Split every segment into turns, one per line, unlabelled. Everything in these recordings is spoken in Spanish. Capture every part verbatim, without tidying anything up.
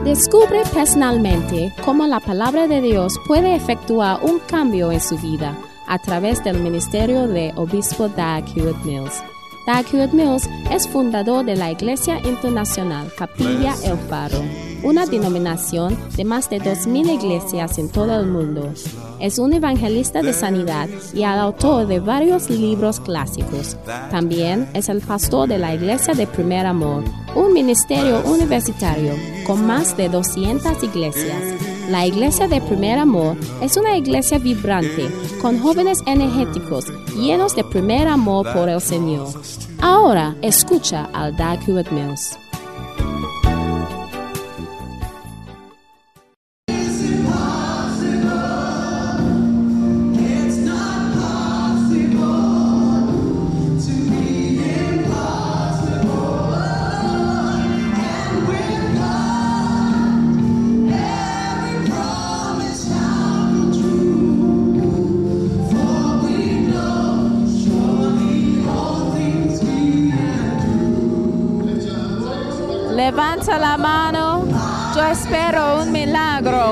Descubre personalmente cómo la palabra de Dios puede efectuar un cambio en su vida a través del ministerio de Obispo Dag Heward-Mills. Dag Heward-Mills es fundador de la Iglesia Internacional Capilla El Faro, una denominación de más de dos mil iglesias en todo el mundo. Es un evangelista de sanidad y el autor de varios libros clásicos. También es el pastor de la Iglesia de Primer Amor, un ministerio universitario con más de doscientas iglesias. La Iglesia de Primer Amor es una iglesia vibrante, con jóvenes energéticos, llenos de primer amor por el Señor. Ahora escucha al Dag Heward-Mills.
Levanta la mano, yo espero un milagro.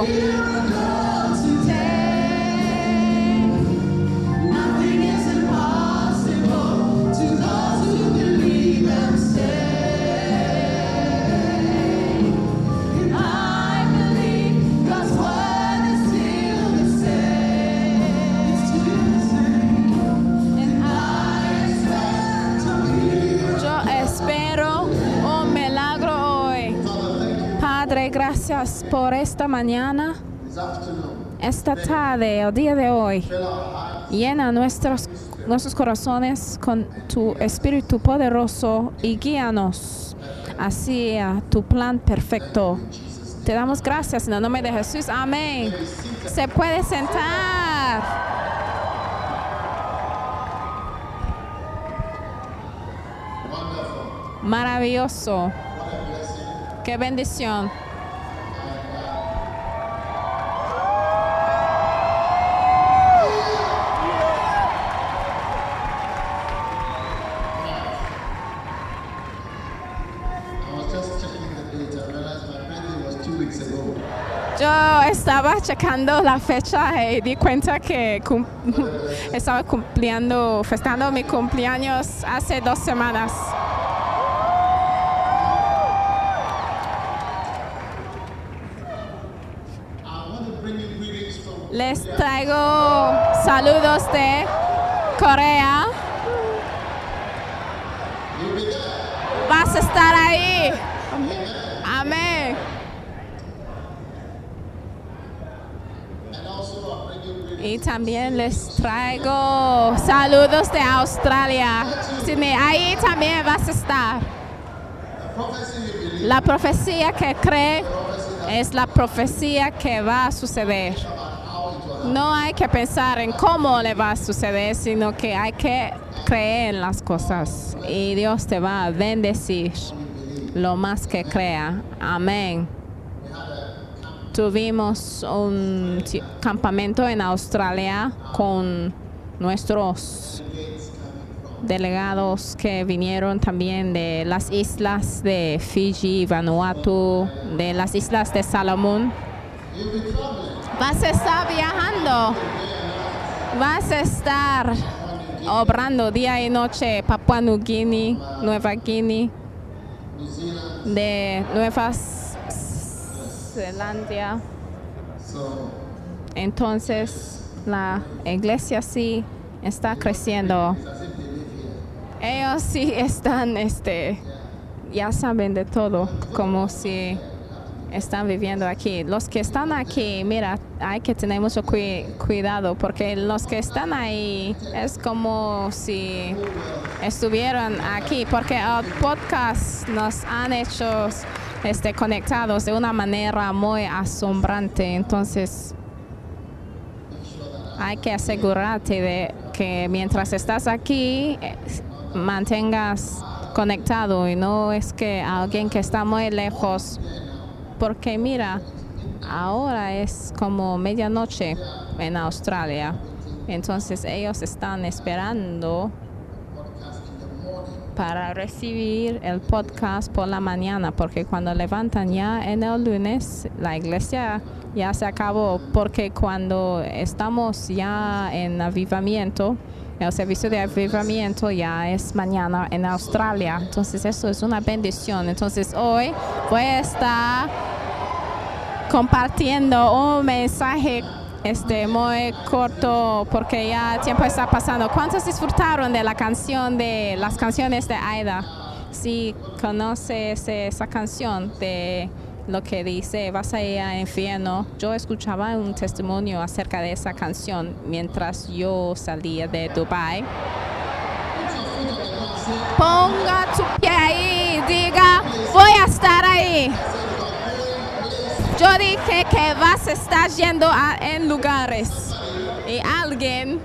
Padre, gracias por esta mañana, esta tarde, el día de hoy. Llena nuestros, nuestros corazones con tu Espíritu poderoso y guíanos hacia tu plan perfecto. Te damos gracias en el nombre de Jesús. Amén. Se puede sentar. Maravilloso. ¡Qué bendición! Yo estaba checando la fecha y di cuenta que cum estaba cumpliendo, festejando mi cumpleaños hace dos semanas. Les traigo saludos de Corea. Vas a estar ahí. Amén. Y también les traigo saludos de Australia. Sydney, ahí también vas a estar. La profecía que cree es la profecía que va a suceder. No hay que pensar en cómo le va a suceder, sino que hay que creer en las cosas. Y Dios te va a bendecir lo más que crea. Amén. Tuvimos un campamento en Australia con nuestros delegados que vinieron también de las islas de Fiji, Vanuatu, de las islas de Salomón. Vas a estar viajando, vas a estar obrando día y noche Papua Nueva Guinea, Nueva Guinea, de Nueva Zelanda. Entonces la iglesia sí está creciendo. Ellos sí están, este, ya saben de todo, como si están viviendo aquí. Los que están aquí, mira, hay que tener mucho cu cuidado porque los que están ahí es como si estuvieran aquí, porque el podcast nos han hecho este, conectados de una manera muy asombrante. Entonces hay que asegurarte de que mientras estás aquí eh, mantengas conectado y no es que alguien que está muy lejos. Porque mira, ahora es como medianoche en Australia. Entonces ellos están esperando para recibir el podcast por la mañana, porque cuando levantan ya en el lunes, la iglesia ya se acabó, porque cuando estamos ya en avivamiento, el servicio de avivamiento ya es mañana en Australia. Entonces eso es una bendición. Entonces hoy voy a estar compartiendo un mensaje este muy corto porque ya el tiempo está pasando. ¿Cuántos disfrutaron de la canción de las canciones de Aida? Si conoces esa canción de lo que dice vas a ir al infierno. Yo escuchaba un testimonio acerca de esa canción mientras yo salía de Dubai. Ponga tu pie ahí, diga, voy a estar ahí. Yo dije que vas a estar yendo a, en lugares y alguien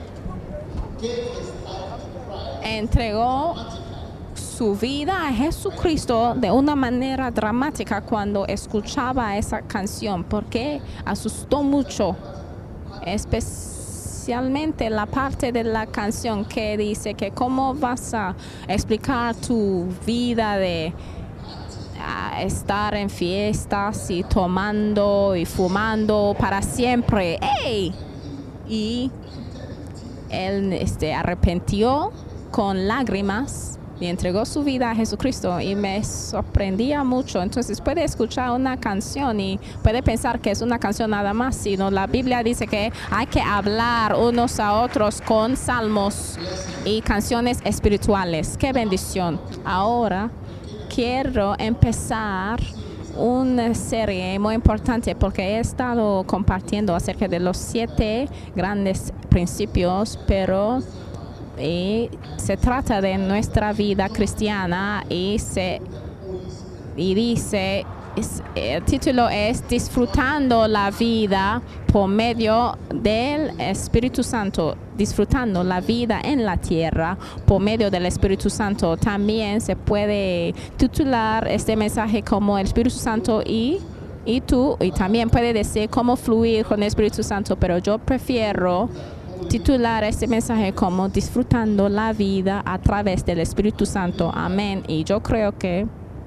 entregó su vida a Jesucristo de una manera dramática cuando escuchaba esa canción, porque asustó mucho, especialmente la parte de la canción que dice que cómo vas a explicar tu vida de a estar en fiestas y tomando y fumando para siempre. ¡Ey! Y él este, arrepintió con lágrimas y entregó su vida a Jesucristo y me sorprendía mucho. Entonces puede escuchar una canción y puede pensar que es una canción nada más, sino la Biblia dice que hay que hablar unos a otros con salmos y canciones espirituales. ¡Qué bendición! Ahora quiero empezar una serie muy importante porque he estado compartiendo acerca de los siete grandes principios, pero y se trata de nuestra vida cristiana y se y dice es, el título es Disfrutando la vida por medio del Espíritu Santo, disfrutando la vida en la tierra por medio del Espíritu Santo. También se puede titular este mensaje como el Espíritu Santo y y tú, y también puede decir cómo fluir con el Espíritu Santo, pero yo prefiero titular este mensaje como disfrutando la vida a través del Espíritu Santo. Amén. Y yo creo que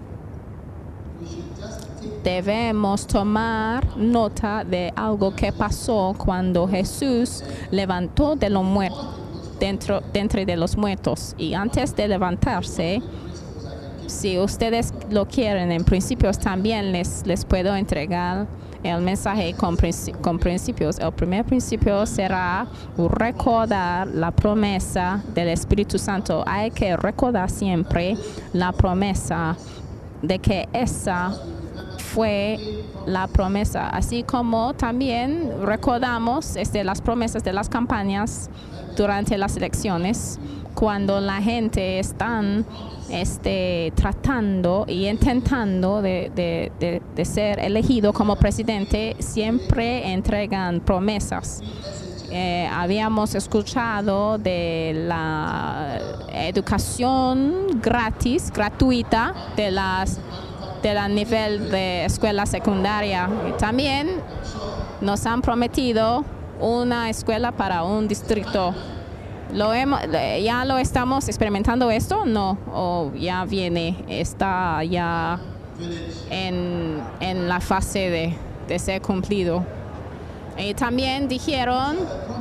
debemos tomar nota de algo que pasó cuando Jesús levantó de los muertos, dentro, dentro de los muertos. Y antes de levantarse, si ustedes lo quieren, en principios también les, les puedo entregar el mensaje con, con principios. El primer principio será recordar la promesa del Espíritu Santo. Hay que recordar siempre la promesa de que esa fue la promesa, así como también recordamos este, las promesas de las campañas durante las elecciones, cuando la gente está este, tratando y intentando de, de, de, de ser elegido como presidente, siempre entregan promesas. Eh, habíamos escuchado de la educación gratis, gratuita de las del nivel de escuela secundaria. Y también nos han prometido una escuela para un distrito. ¿Lo hemos, ¿Ya lo estamos experimentando esto? No, o ya viene, está ya en, en la fase de, de ser cumplido. Y también dijeron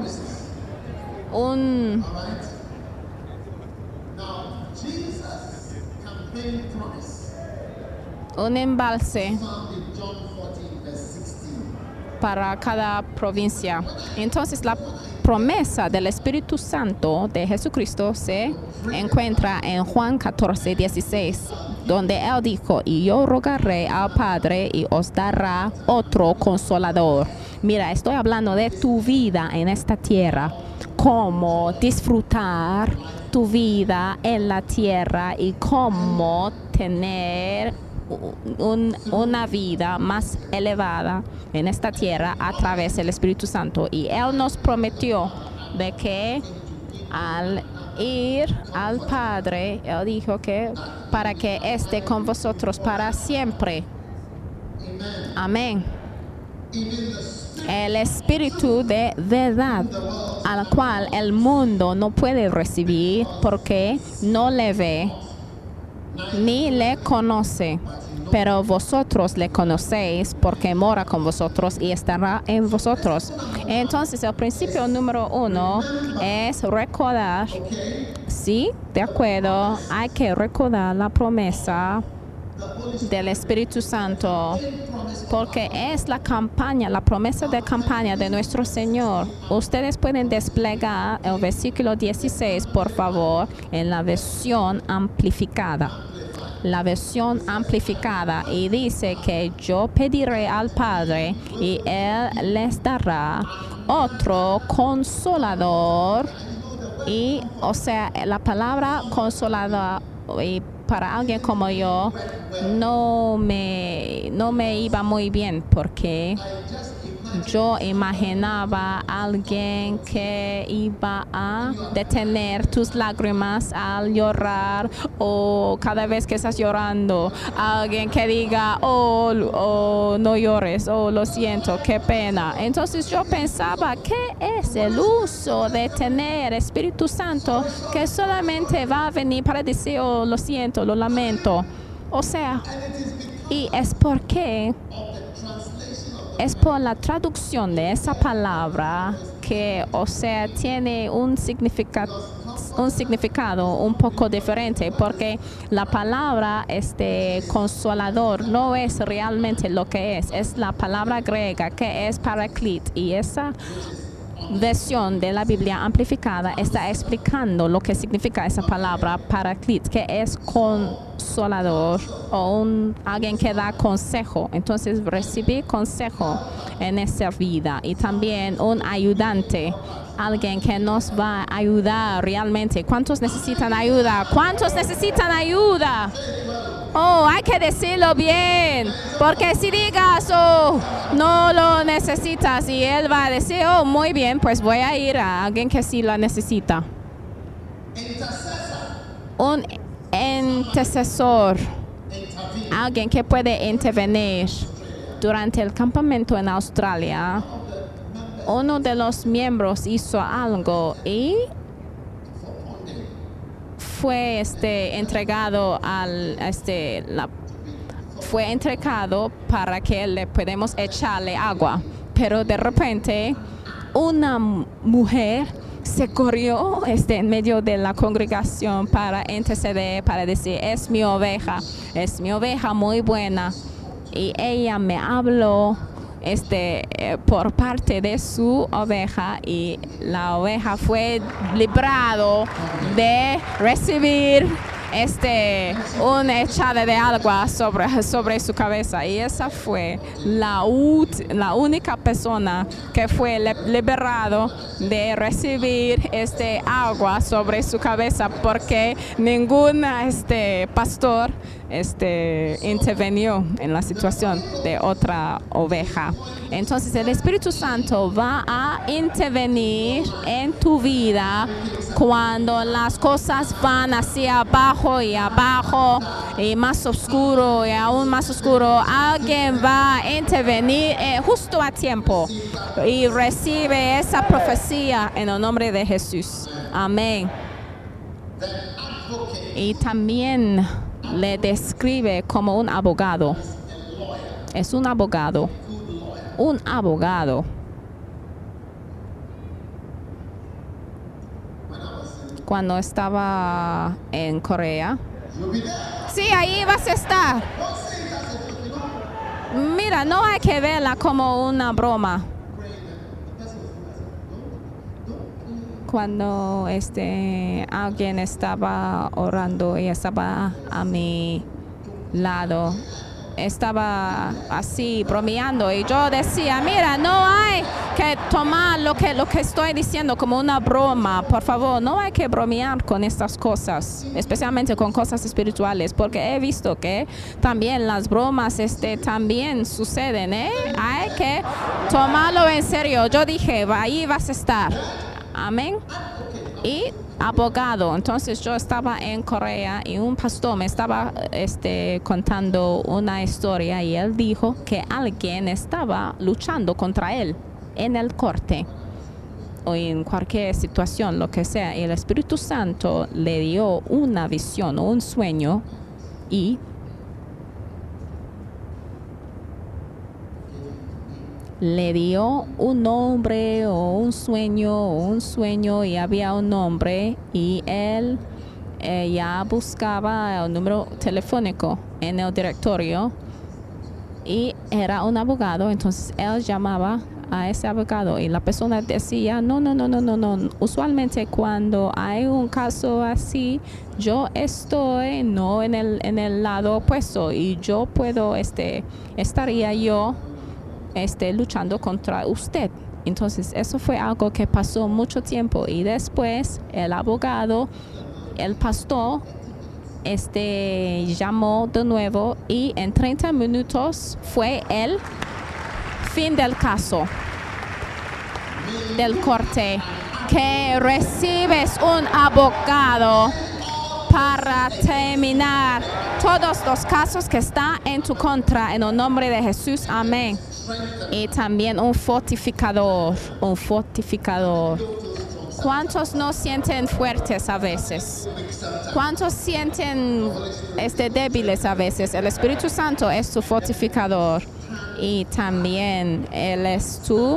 un un embalse para cada provincia. Entonces la promesa del Espíritu Santo de Jesucristo se encuentra en Juan catorce, dieciséis, donde Él dijo, y yo rogaré al Padre y os dará otro consolador. Mira, estoy hablando de tu vida en esta tierra, cómo disfrutar tu vida en la tierra y cómo tener Un, una vida más elevada en esta tierra a través del Espíritu Santo. Y Él nos prometió de que al ir al Padre, Él dijo que para que esté con vosotros para siempre. Amén. el espíritu de verdad, al cual el mundo no puede recibir porque no le ve ni le conoce, pero vosotros le conocéis porque mora con vosotros y estará en vosotros. Entonces el principio número uno es recordar, sí, de acuerdo, hay que recordar la promesa del Espíritu Santo, porque es la campaña, la promesa de campaña de nuestro Señor. Ustedes pueden desplegar el versículo dieciséis, por favor, en la versión amplificada. La versión amplificada, y dice que yo pediré al Padre y Él les dará otro consolador. Y, o sea, la palabra consolador, y para alguien como yo, no me, no me iba muy bien, porque yo imaginaba a alguien que iba a detener tus lágrimas al llorar, o cada vez que estás llorando, alguien que diga, oh, oh, no llores, oh, lo siento, qué pena. Entonces yo pensaba, ¿qué es el uso de tener Espíritu Santo que solamente va a venir para decir, oh, lo siento, lo lamento? O sea, y es porque es por la traducción de esa palabra que, o sea, tiene un significado, un significado un poco diferente, porque la palabra este consolador no es realmente lo que es, es la palabra griega que es parakletos, y esa versión de la Biblia amplificada está explicando lo que significa esa palabra parakletos, que es consolador o un, alguien que da consejo. Entonces recibir consejo en esa vida, y también un ayudante, alguien que nos va a ayudar realmente. ¿Cuántos necesitan ayuda? ¿Cuántos necesitan ayuda? Oh, hay que decirlo bien, porque si digas, oh, no lo necesitas, y él va a decir, oh, muy bien, pues voy a ir a alguien que sí lo necesita. Un intercesor, alguien que puede intervenir. Durante el campamento en Australia, uno de los miembros hizo algo y fue este entregado al este la fue entregado para que le podamos echarle agua, pero de repente una mujer se corrió este en medio de la congregación para interceder, para decir, es mi oveja, es mi oveja muy buena, y ella me habló este eh, por parte de su oveja, y la oveja fue librado de recibir este una echada de agua sobre, sobre su cabeza, y esa fue la, la única persona que fue liberado de recibir este agua sobre su cabeza, porque ningún este pastor este intervenió en la situación de otra oveja. Entonces el Espíritu Santo va a intervenir en tu vida cuando las cosas van hacia abajo y abajo y más oscuro y aún más oscuro. Alguien va a intervenir eh, justo a tiempo y recibe esa profecía en el nombre de Jesús. Amén. Y también le describe como un abogado. Es un abogado. Un abogado. Cuando estaba en Corea. Sí, ahí vas a estar. Mira, no hay que verla como una broma. Cuando este alguien estaba orando y estaba a mi lado, estaba así bromeando, y yo decía, mira, no hay que tomar lo que, lo que estoy diciendo como una broma, por favor, no hay que bromear con estas cosas, especialmente con cosas espirituales, porque he visto que también las bromas este, también suceden, ¿eh? Hay que tomarlo en serio. Yo dije, ahí vas a estar. Amén. y abogado. Entonces yo estaba en Corea y un pastor me estaba este, contando una historia y él dijo que alguien estaba luchando contra él en el corte o en cualquier situación, lo que sea. Y el Espíritu Santo le dio una visión o un sueño y le dio un nombre o un sueño o un sueño y había un nombre y él eh, ya buscaba el número telefónico en el directorio y era un abogado. Entonces él llamaba a ese abogado y la persona decía no, no, no, no, no, no. Usualmente cuando hay un caso así, yo estoy no en el, en el lado opuesto y yo puedo, este, estaría yo Este, luchando contra usted. Entonces eso fue algo que pasó mucho tiempo y después el abogado, el pastor, este, llamó de nuevo y en treinta minutos fue el fin del caso, del corte, que recibes un abogado para terminar todos los casos que están en tu contra en el nombre de Jesús. Amén. Y también un fortificador, un fortificador. ¿Cuántos no sienten fuertes a veces? ¿Cuántos sienten este, débiles a veces? El Espíritu Santo es tu fortificador y también Él es tu,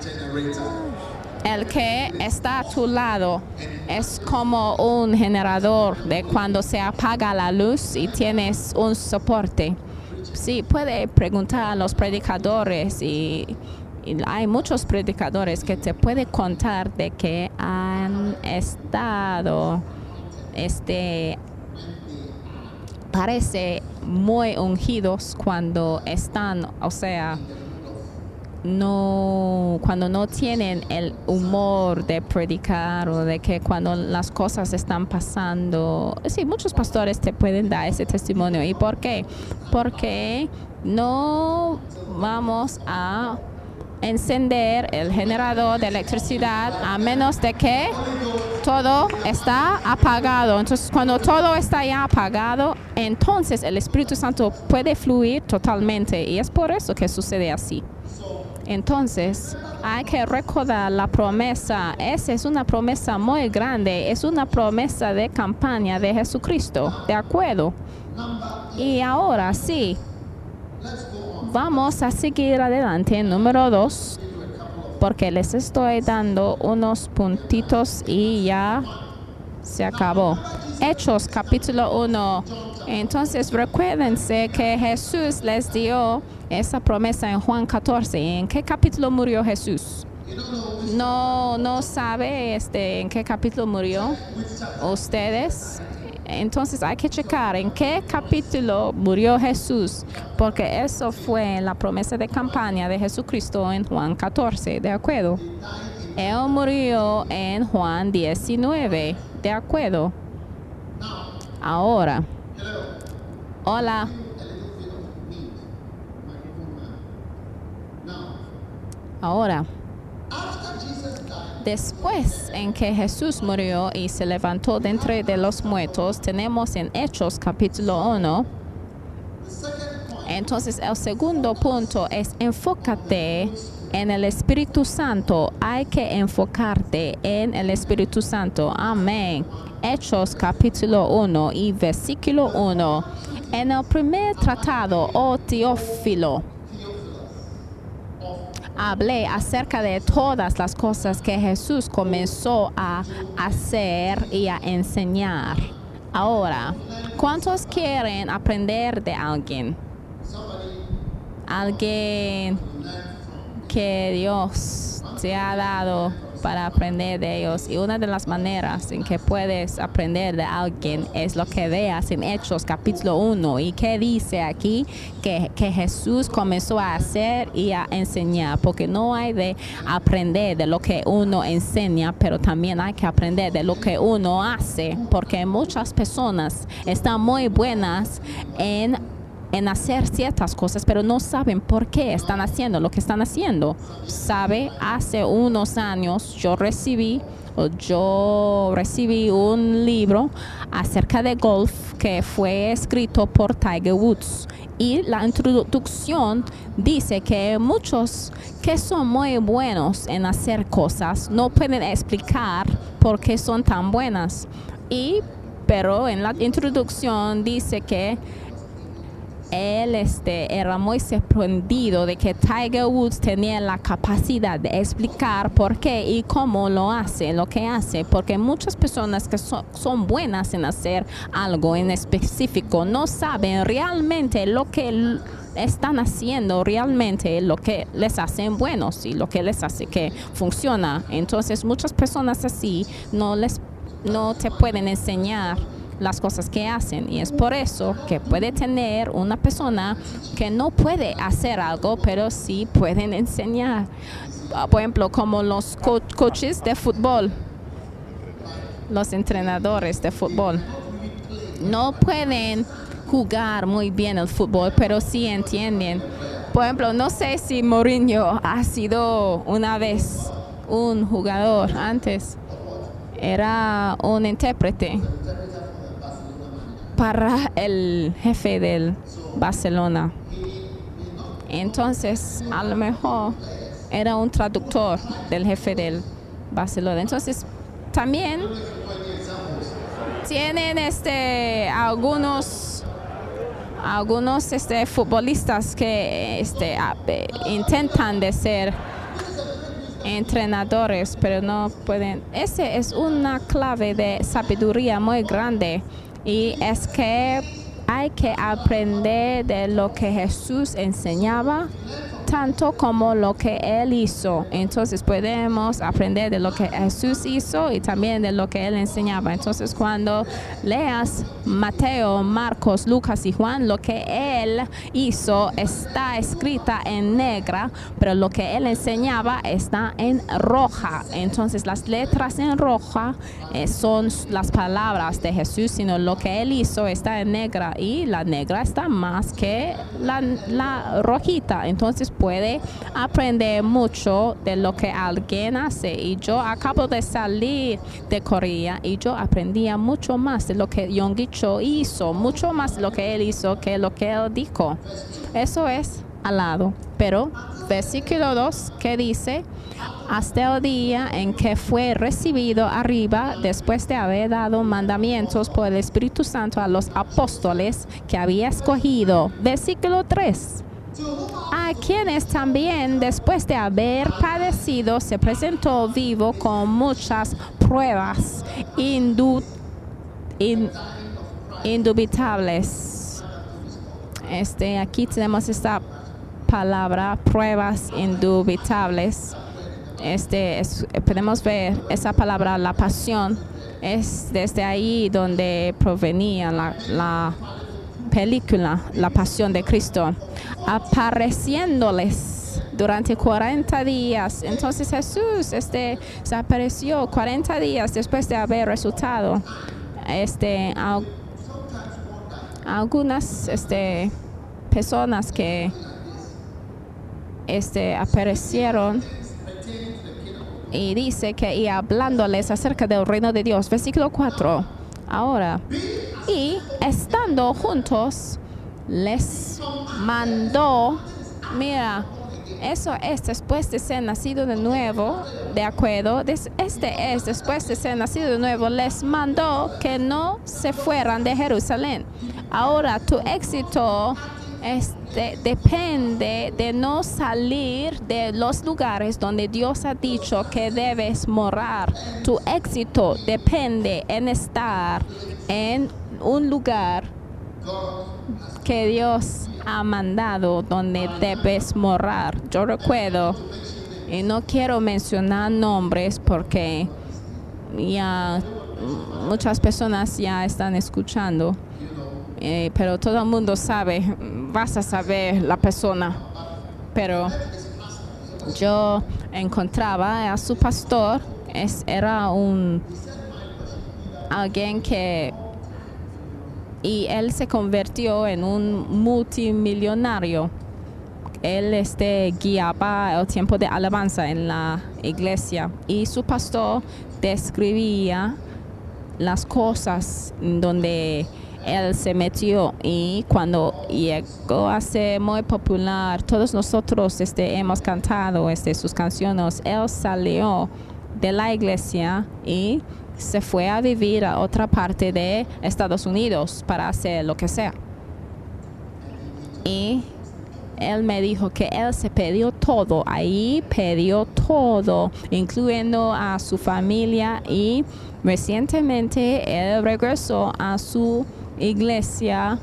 el que está a tu lado. Es como un generador de cuando se apaga la luz y tienes un soporte. Sí, puede preguntar a los predicadores y, y hay muchos predicadores que te pueden contar de que han estado, este, parece muy ungidos cuando están, o sea, no, cuando no tienen el humor de predicar o de que cuando las cosas están pasando. Sí, muchos pastores te pueden dar ese testimonio. ¿Y por qué? Porque no vamos a encender el generador de electricidad a menos de que todo está apagado. Entonces, cuando todo está ya apagado, entonces el Espíritu Santo puede fluir totalmente y es por eso que sucede así. Entonces, hay que recordar la promesa. Esa es una promesa muy grande. Es una promesa de campaña de Jesucristo. ¿De acuerdo? Y ahora sí, vamos a seguir adelante. Número dos, porque les estoy dando unos puntitos y ya se acabó. Hechos, capítulo uno. Entonces, recuérdense que Jesús les dio esa promesa en Juan catorce. ¿En qué capítulo murió Jesús? No, no sabe este, en qué capítulo murió ustedes. Entonces hay que checar en qué capítulo murió Jesús, porque eso fue la promesa de campaña de Jesucristo en Juan catorce, ¿de acuerdo? Él murió en Juan diecinueve, ¿de acuerdo? Ahora, hola. Ahora, después en que Jesús murió y se levantó de entre de los muertos, tenemos en Hechos capítulo uno. Entonces el segundo punto es enfócate en el Espíritu Santo. Hay que enfocarte en el Espíritu Santo. Amén. Hechos capítulo uno y versículo uno. En el primer tratado, oh Teófilo, hablé acerca de todas las cosas que Jesús comenzó a hacer y a enseñar. Ahora, ¿cuántos quieren aprender de alguien? Alguien que Dios te ha dado para aprender de ellos. Y una de las maneras en que puedes aprender de alguien es lo que veas en Hechos capítulo uno. ¿Y qué dice aquí? Que, que Jesús comenzó a hacer y a enseñar. Porque no hay de aprender de lo que uno enseña, pero también hay que aprender de lo que uno hace. Porque muchas personas están muy buenas en en hacer ciertas cosas, pero no saben por qué están haciendo lo que están haciendo. Sabe, hace unos años yo recibí yo recibí un libro acerca de golf que fue escrito por Tiger Woods. Y la introducción dice que muchos que son muy buenos en hacer cosas no pueden explicar por qué son tan buenas. Y, pero en la introducción dice que él este, era muy sorprendido de que Tiger Woods tenía la capacidad de explicar por qué y cómo lo hace, lo que hace, porque muchas personas que so, son buenas en hacer algo en específico no saben realmente lo que están haciendo, realmente lo que les hacen buenos y lo que les hace que funciona. Entonces muchas personas así no, les, no te pueden enseñar las cosas que hacen, y es por eso que puede tener una persona que no puede hacer algo, pero sí pueden enseñar. Por ejemplo, como los co coaches de fútbol, los entrenadores de fútbol. No pueden jugar muy bien el fútbol, pero sí entienden. Por ejemplo, no sé si Mourinho ha sido una vez un jugador antes. Era un intérprete para el jefe del Barcelona. Entonces, a lo mejor era un traductor del jefe del Barcelona. Entonces, también tienen este algunos algunos este futbolistas que este intentan de ser entrenadores, pero no pueden. Ese es una clave de sabiduría muy grande. Y es que hay que aprender de lo que Jesús enseñaba, tanto como lo que Él hizo. Entonces podemos aprender de lo que Jesús hizo y también de lo que Él enseñaba. Entonces cuando leas Mateo, Marcos, Lucas y Juan, lo que Él hizo está escrita en negra, pero lo que Él enseñaba está en roja. Entonces las letras en roja eh, son las palabras de Jesús, sino lo que Él hizo está en negra, y la negra está más que la, la rojita. Entonces puede aprender mucho de lo que alguien hace. Y yo acabo de salir de Corea y yo aprendía mucho más de lo que Yonggi Cho hizo, mucho más de lo que él hizo que lo que él dijo. Eso es al lado. Pero versículo dos que dice: hasta el día en que fue recibido arriba, después de haber dado mandamientos por el Espíritu Santo a los apóstoles que había escogido. Versículo tres. A quienes también, después de haber padecido, se presentó vivo con muchas pruebas indu in indubitables. Este, aquí tenemos esta palabra, pruebas indubitables. Este, es, podemos ver esa palabra, la pasión, es desde ahí donde provenía la, la película, La Pasión de Cristo, apareciéndoles durante cuarenta días. Entonces Jesús este, se apareció cuarenta días después de haber resucitado. Este, a, a algunas este, personas que este, aparecieron, y dice que y hablándoles acerca del reino de Dios. Versículo cuatro. Ahora, y estando juntos, les mandó, mira, eso es después de ser nacido de nuevo, de acuerdo, este es después de ser nacido de nuevo, les mandó que no se fueran de Jerusalén. Ahora, tu éxito Este, depende de no salir de los lugares donde Dios ha dicho que debes morar. Tu éxito depende en estar en un lugar que Dios ha mandado donde debes morar. Yo recuerdo, y no quiero mencionar nombres porque ya muchas personas ya están escuchando. Eh, pero todo el mundo sabe, vas a saber la persona. Pero yo encontraba a su pastor, es, era un alguien que, y él se convirtió en un multimillonario. él este, guiaba el tiempo de alabanza en la iglesia y su pastor describía las cosas donde él se metió, y cuando llegó a ser muy popular, todos nosotros este, hemos cantado este, sus canciones. Él salió de la iglesia y se fue a vivir a otra parte de Estados Unidos para hacer lo que sea. Y él me dijo que él se perdió todo, ahí perdió todo, incluyendo a su familia, y recientemente él regresó a su iglesia,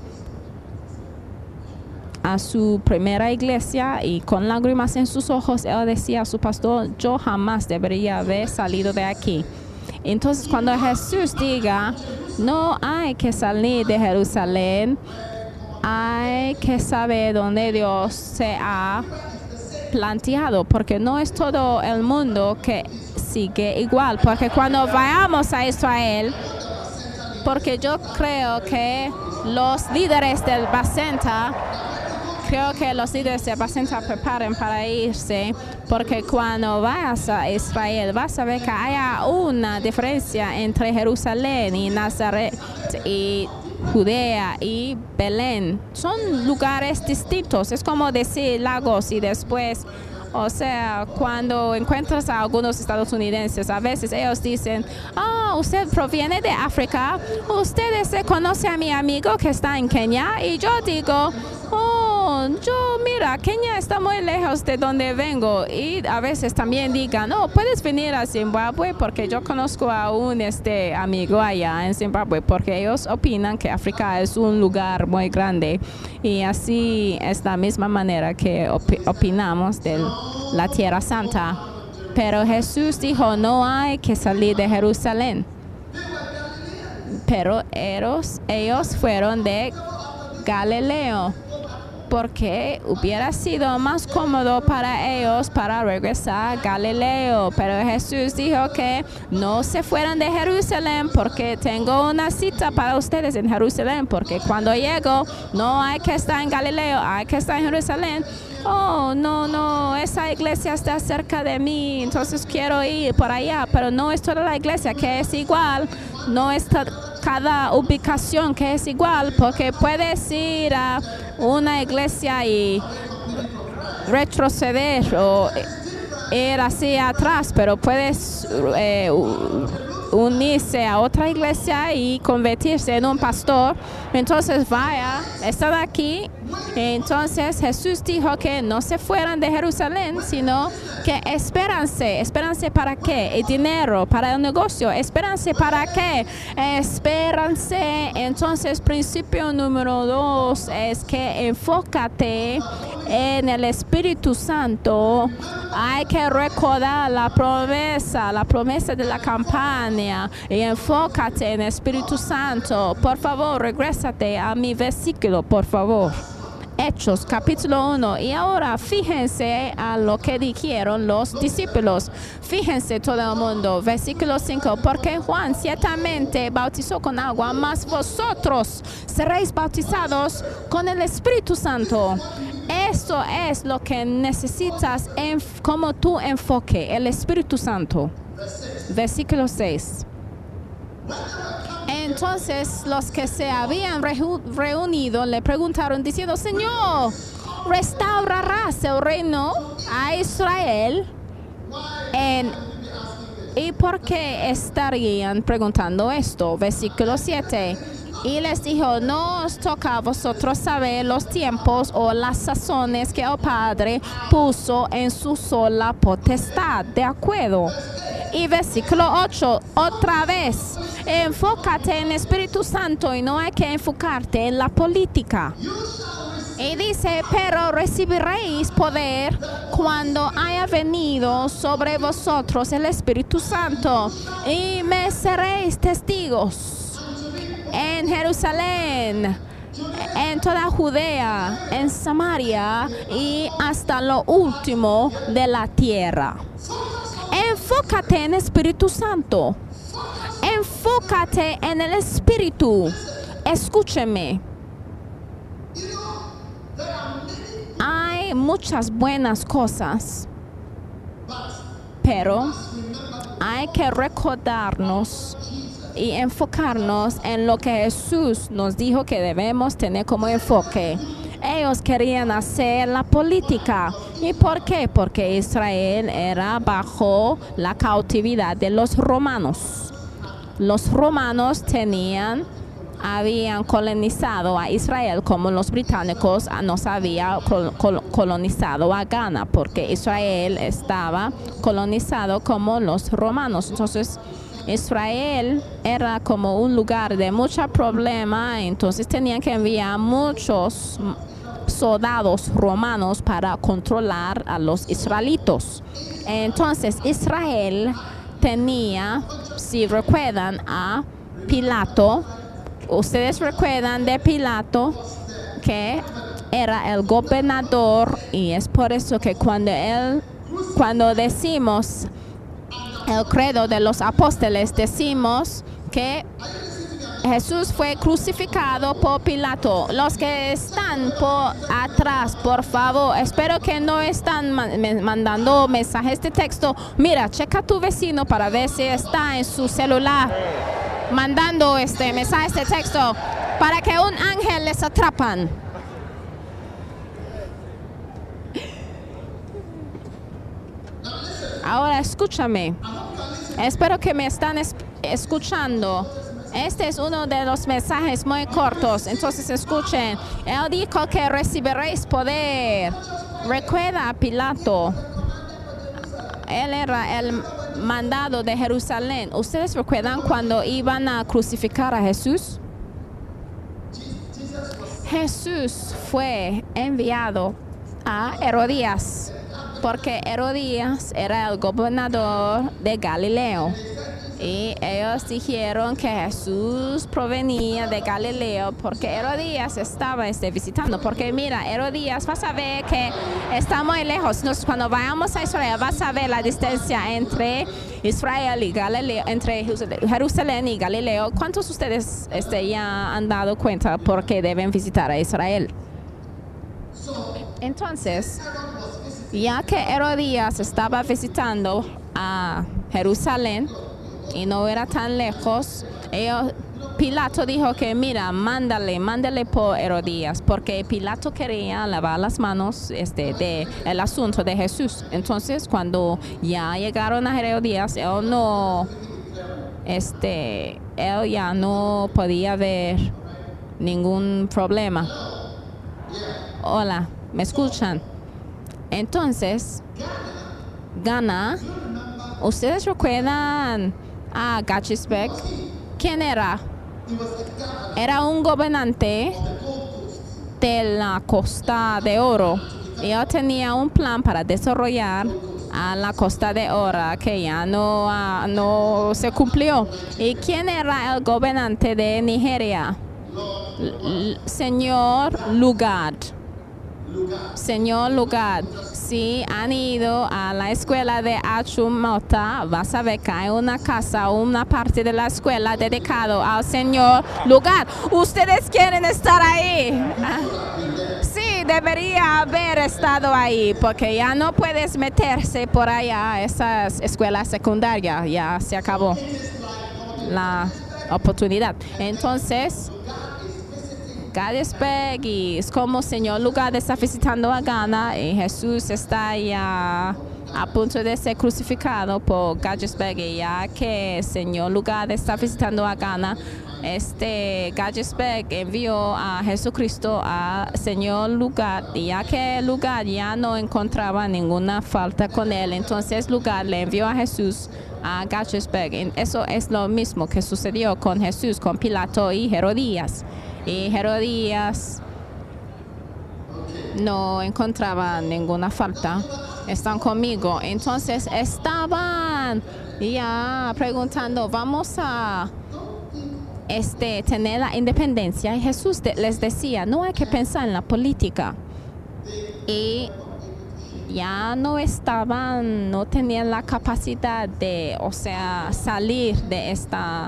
a su primera iglesia, y con lágrimas en sus ojos él decía a su pastor: yo jamás debería haber salido de aquí. Entonces, cuando Jesús diga no hay que salir de Jerusalén, hay que saber dónde Dios se ha planteado, porque no es todo el mundo que sigue igual, porque cuando vayamos a Israel, porque yo creo que los líderes del Bacenta, creo que los líderes del Bacenta preparen para irse, porque cuando vayas a Israel vas a ver que haya una diferencia entre Jerusalén y Nazaret y Judea y Belén. Son lugares distintos. Es como decir Lagos y después, o sea, cuando encuentras a algunos estadounidenses, a veces ellos dicen: ah, usted proviene de África, usted se conoce a mi amigo que está en Kenia, y yo digo: oh, yo mira, Kenia está muy lejos de donde vengo. Y a veces también digan: no, puedes venir a Zimbabue porque yo conozco a un este amigo allá en Zimbabue, porque ellos opinan que África es un lugar muy grande. Y así es la misma manera que op opinamos de la Tierra Santa. Pero Jesús dijo: no hay que salir de Jerusalén. Pero ellos, ellos fueron de Galileo, porque hubiera sido más cómodo para ellos para regresar a Galileo. Pero Jesús dijo que no se fueran de Jerusalén, porque tengo una cita para ustedes en Jerusalén, porque cuando llego no hay que estar en Galileo, hay que estar en Jerusalén. Oh, no, no, esa iglesia está cerca de mí, entonces quiero ir por allá, pero no es toda la iglesia que es igual, no es cada ubicación que es igual, porque puedes ir a una iglesia y retroceder o ir hacia atrás, pero puedes eh, unirse a otra iglesia y convertirse en un pastor. Entonces vaya, están aquí. Entonces Jesús dijo que no se fueran de Jerusalén, sino que espéranse. ¿Espéranse para qué? El dinero, para el negocio. ¿Espéranse para qué? Espéranse. Entonces, principio número dos es que enfócate en el Espíritu Santo. Hay que recordar la promesa, la promesa de la campaña, y enfócate en el Espíritu Santo. Por favor, regrésate a mi versículo, por favor. Hechos, capítulo uno. Y ahora fíjense a lo que dijeron los discípulos. Fíjense todo el mundo. Versículo cinco. Porque Juan ciertamente bautizó con agua, mas vosotros seréis bautizados con el Espíritu Santo. Eso es lo que necesitas en, como tu enfoque, el Espíritu Santo. Versículo seis. Entonces los que se habían reunido le preguntaron diciendo: Señor, ¿restaurarás el reino a Israel? En, ¿Y por qué estarían preguntando esto? Versículo siete. Y les dijo: no os toca a vosotros saber los tiempos o las sazones que el Padre puso en su sola potestad. ¿De acuerdo? Y versículo ocho, otra vez, enfócate en el Espíritu Santo y no hay que enfocarte en la política. Y dice: pero recibiréis poder cuando haya venido sobre vosotros el Espíritu Santo, y me seréis testigos en Jerusalén, en toda Judea, en Samaria y hasta lo último de la tierra. Enfócate en el Espíritu Santo. Enfócate en el Espíritu. Escúcheme. Hay hay muchas buenas cosas, pero hay que recordarnos y enfocarnos en lo que Jesús nos dijo que debemos tener como enfoque. Ellos querían hacer la política. ¿Y por qué? Porque Israel era bajo la cautividad de los romanos. Los romanos tenían, habían colonizado a Israel como los británicos nos habían colonizado a Ghana, porque Israel estaba colonizado como los romanos. Entonces, Israel era como un lugar de mucho problema, entonces tenían que enviar muchos soldados romanos para controlar a los israelitos. Entonces Israel tenía, si recuerdan, a Pilato. Ustedes recuerdan de Pilato, que era el gobernador, y es por eso que cuando él, cuando decimos el credo de los apóstoles, decimos que Jesús fue crucificado por Pilato. Los que están por atrás, por favor, espero que no están mandando mensajes de texto. Mira, checa a tu vecino para ver si está en su celular mandando este mensajes de texto para que un ángel les atrapan. Ahora escúchame. Espero que me están es escuchando. Este es uno de los mensajes muy cortos, entonces escuchen. Él dijo que recibiréis poder. Recuerda a Pilato. Él era el mandado de Jerusalén. ¿Ustedes recuerdan cuando iban a crucificar a Jesús? Jesús fue enviado a Herodías, porque Herodías era el gobernador de Galileo. Y ellos dijeron que Jesús provenía de Galileo porque Herodías estaba este, visitando. Porque mira, Herodías, vas a ver que está muy lejos. Entonces, cuando vayamos a Israel, vas a ver la distancia entre Israel y Galileo, entre Jerusalén y Galileo. ¿Cuántos de ustedes este, ya han dado cuenta por qué deben visitar a Israel? Entonces, ya que Herodías estaba visitando a Jerusalén, y no era tan lejos, ellos, Pilato dijo que mira, mándale, mándale por Herodías, porque Pilato quería lavar las manos este, de el asunto de Jesús. Entonces, cuando ya llegaron a Herodías, él no, este, él ya no podía ver ningún problema. Hola, ¿me escuchan? Entonces, Ghana, ¿ustedes recuerdan a Gachisbeck? ¿Quién era? Era un gobernante de la Costa de Oro. Él tenía un plan para desarrollar a la Costa de Oro que ya no, uh, no se cumplió. ¿Y quién era el gobernante de Nigeria? L señor Lugard. Señor Lugard, si han ido a la escuela de Achimota, vas a ver que hay una casa, una parte de la escuela dedicado al señor Lugard. ¿Ustedes quieren estar ahí? Sí, debería haber estado ahí, porque ya no puedes meterse por allá a esas escuelas secundarias. Ya se acabó la oportunidad. Entonces, Gachisbeck, y es como señor Lugard está visitando a Ghana y Jesús está ya a punto de ser crucificado por Gachisbeck, y ya que el señor Lugard está visitando a Ghana, este Gachisbeck envió a Jesucristo al señor Lugard, y ya que Lugard ya no encontraba ninguna falta con él, entonces Lugard le envió a Jesús a Gachisbeck. Eso es lo mismo que sucedió con Jesús, con Pilato y Herodías. Y Herodías no encontraba ninguna falta. Están conmigo. Entonces estaban ya preguntando, vamos a este, tener la independencia. Y Jesús de, les decía, no hay que pensar en la política. Y ya no estaban, no tenían la capacidad de, o sea, salir de esta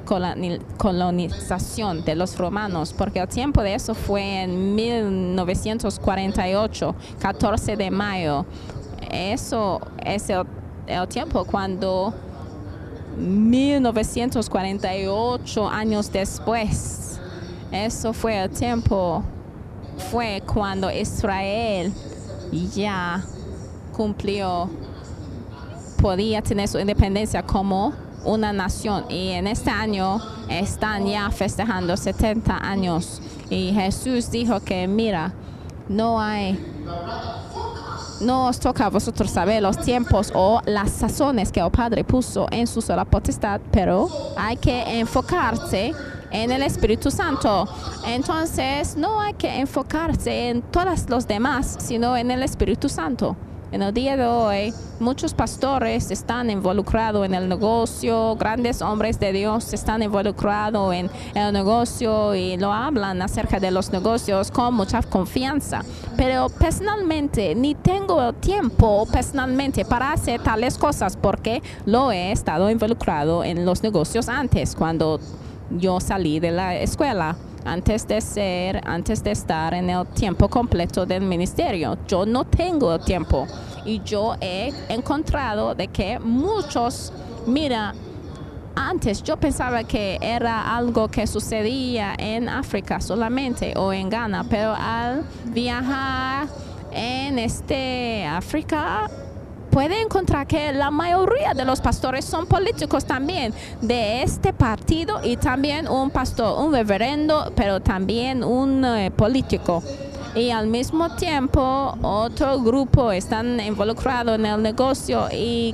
colonización de los romanos, porque el tiempo de eso fue en mil novecientos cuarenta y ocho, catorce de mayo. Eso es el, el tiempo cuando mil novecientos cuarenta y ocho años después, eso fue el tiempo, fue cuando Israel ya cumplió, podía tener su independencia como una nación, y en este año están ya festejando setenta años, y Jesús dijo que mira, no hay, no os toca a vosotros saber los tiempos o las sazones que el Padre puso en su sola potestad, pero hay que enfocarse en el Espíritu Santo. Entonces no hay que enfocarse en todos los demás, sino en el Espíritu Santo. En el día de hoy, muchos pastores están involucrados en el negocio, grandes hombres de Dios están involucrados en el negocio y lo hablan acerca de los negocios con mucha confianza. Pero personalmente, ni tengo el tiempo personalmente para hacer tales cosas porque lo he estado involucrado en los negocios antes, cuando yo salí de la escuela. Antes de ser, antes de estar en el tiempo completo del ministerio. Yo no tengo el tiempo. Y yo he encontrado de que muchos, mira, antes yo pensaba que era algo que sucedía en África solamente o en Ghana, pero al viajar en este África, puede encontrar que la mayoría de los pastores son políticos también de este partido, y también un pastor, un reverendo, pero también un eh, político. Y al mismo tiempo otro grupo están involucrados en el negocio, y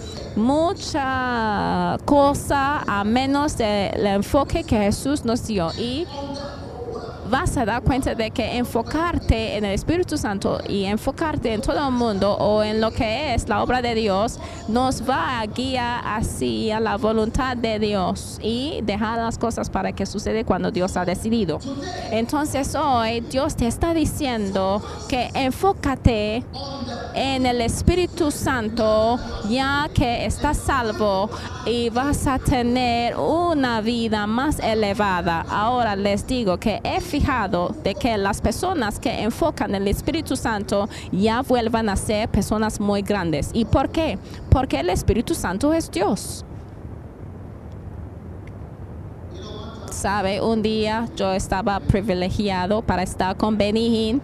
mucha cosa a menos del enfoque que Jesús nos dio. Y vas a dar cuenta de que enfocarte en el Espíritu Santo y enfocarte en todo el mundo o en lo que es la obra de Dios nos va a guiar hacia la voluntad de Dios y dejar las cosas para que suceda cuando Dios ha decidido. Entonces hoy Dios te está diciendo que enfócate en el Espíritu Santo, ya que estás salvo y vas a tener una vida más elevada. Ahora les digo que he fijado de que las personas que enfocan en el Espíritu Santo ya vuelvan a ser personas muy grandes. ¿Y por qué? Porque el Espíritu Santo es Dios. Sabe, un día yo estaba privilegiado para estar con Benny Hinn,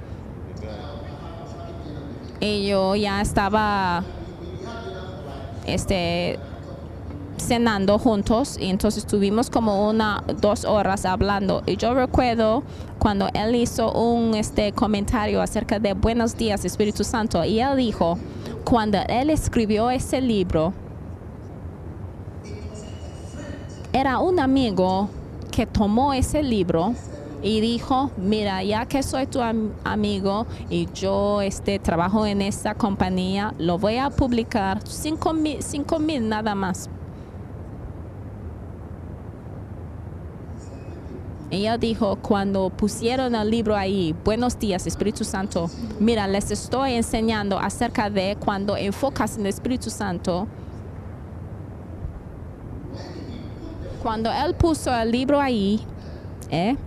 y yo ya estaba este cenando juntos, y entonces estuvimos como una dos horas hablando, y yo recuerdo cuando él hizo un este comentario acerca de Buenos Días Espíritu Santo, y él dijo, cuando él escribió ese libro, era un amigo que tomó ese libro y dijo, mira, ya que soy tu am amigo y yo este, trabajo en esta compañía, lo voy a publicar cinco mil, cinco mil nada más. Ella dijo, cuando pusieron el libro ahí, Buenos Días Espíritu Santo, mira, les estoy enseñando acerca de cuando enfocas en el Espíritu Santo. Cuando él puso el libro ahí, ¿eh?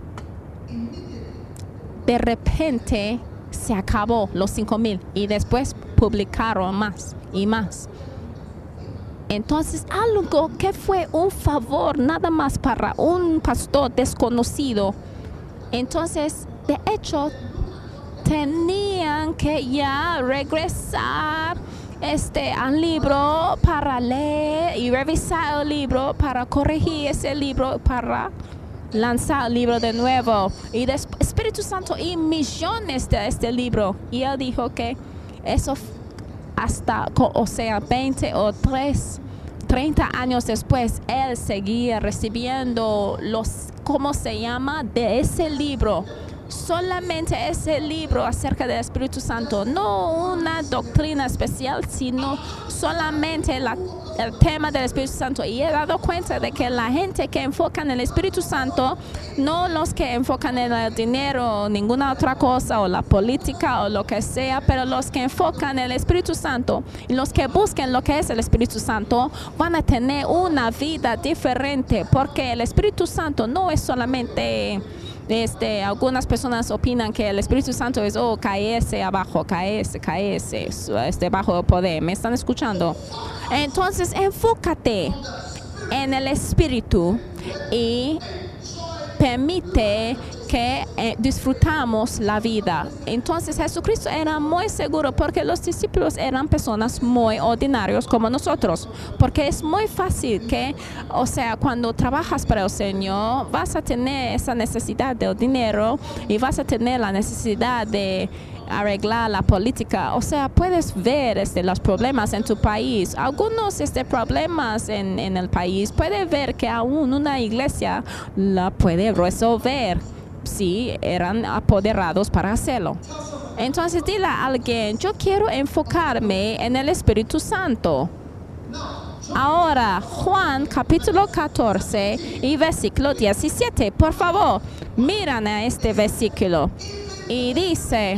de repente se acabó los cinco mil y después publicaron más y más. Entonces algo que fue un favor nada más para un pastor desconocido, entonces de hecho tenían que ya regresar este al libro para leer y revisar el libro, para corregir ese libro, para lanzar el libro de nuevo. Y de Espíritu Santo y millones de este libro. Y él dijo que eso hasta, o sea, veinte o treinta años después, él seguía recibiendo los, ¿cómo se llama? De ese libro. solamente ese libro acerca del Espíritu Santo, no una doctrina especial, sino solamente la, el tema del Espíritu Santo. Y he dado cuenta de que la gente que enfoca en el Espíritu Santo, no los que enfocan en el dinero o ninguna otra cosa, o la política o lo que sea, pero los que enfocan en el Espíritu Santo y los que busquen lo que es el Espíritu Santo van a tener una vida diferente, porque el Espíritu Santo no es solamente... Este, algunas personas opinan que el Espíritu Santo es, oh, caerse abajo, caerse, caerse, este, bajo el poder. ¿Me están escuchando? Entonces, enfócate en el Espíritu y permite que eh, disfrutamos la vida. Entonces Jesucristo era muy seguro, porque los discípulos eran personas muy ordinarios como nosotros, porque es muy fácil que, o sea, cuando trabajas para el Señor vas a tener esa necesidad de dinero y vas a tener la necesidad de arreglar la política. O sea, puedes ver este, los problemas en tu país, algunos este, problemas en, en el país, puedes ver que aún una iglesia la puede resolver si eran apoderados para hacerlo. Entonces dile a alguien, yo quiero enfocarme en el Espíritu Santo. Ahora, Juan capítulo catorce y versículo diecisiete, por favor, miran a este versículo. Y dice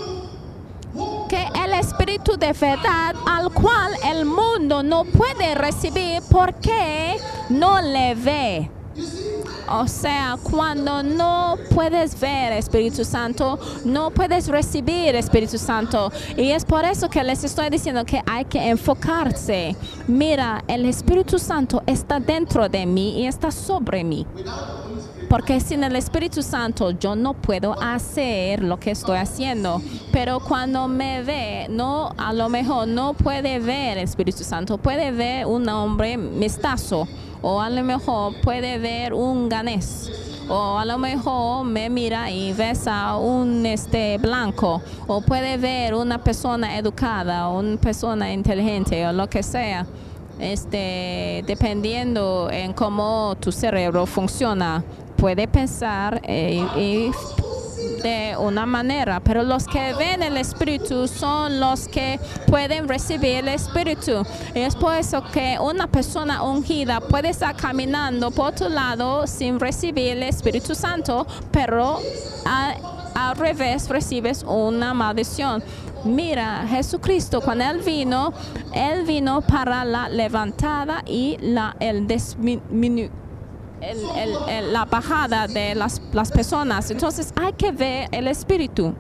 que el Espíritu de verdad, al cual el mundo no puede recibir porque no le ve. O sea, cuando no puedes ver Espíritu Santo, no puedes recibir Espíritu Santo. Y es por eso que les estoy diciendo que hay que enfocarse. Mira, el Espíritu Santo está dentro de mí y está sobre mí. Porque sin el Espíritu Santo yo no puedo hacer lo que estoy haciendo. Pero cuando me ve, no, a lo mejor no puede ver el Espíritu Santo. Puede ver un hombre mestizo. O a lo mejor puede ver un ganés. O a lo mejor me mira y ves a un este, blanco. O puede ver una persona educada, una persona inteligente o lo que sea. Este, dependiendo en cómo tu cerebro funciona, puede pensar eh, y de una manera, pero los que ven el Espíritu son los que pueden recibir el Espíritu. Y es por eso que una persona ungida puede estar caminando por tu lado sin recibir el Espíritu Santo, pero a, al revés recibes una maldición. Mira, Jesucristo, cuando Él vino, Él vino para la levantada y la, el disminuir. El, el, el, la bajada de las, las personas. Entonces hay que ver el Espíritu.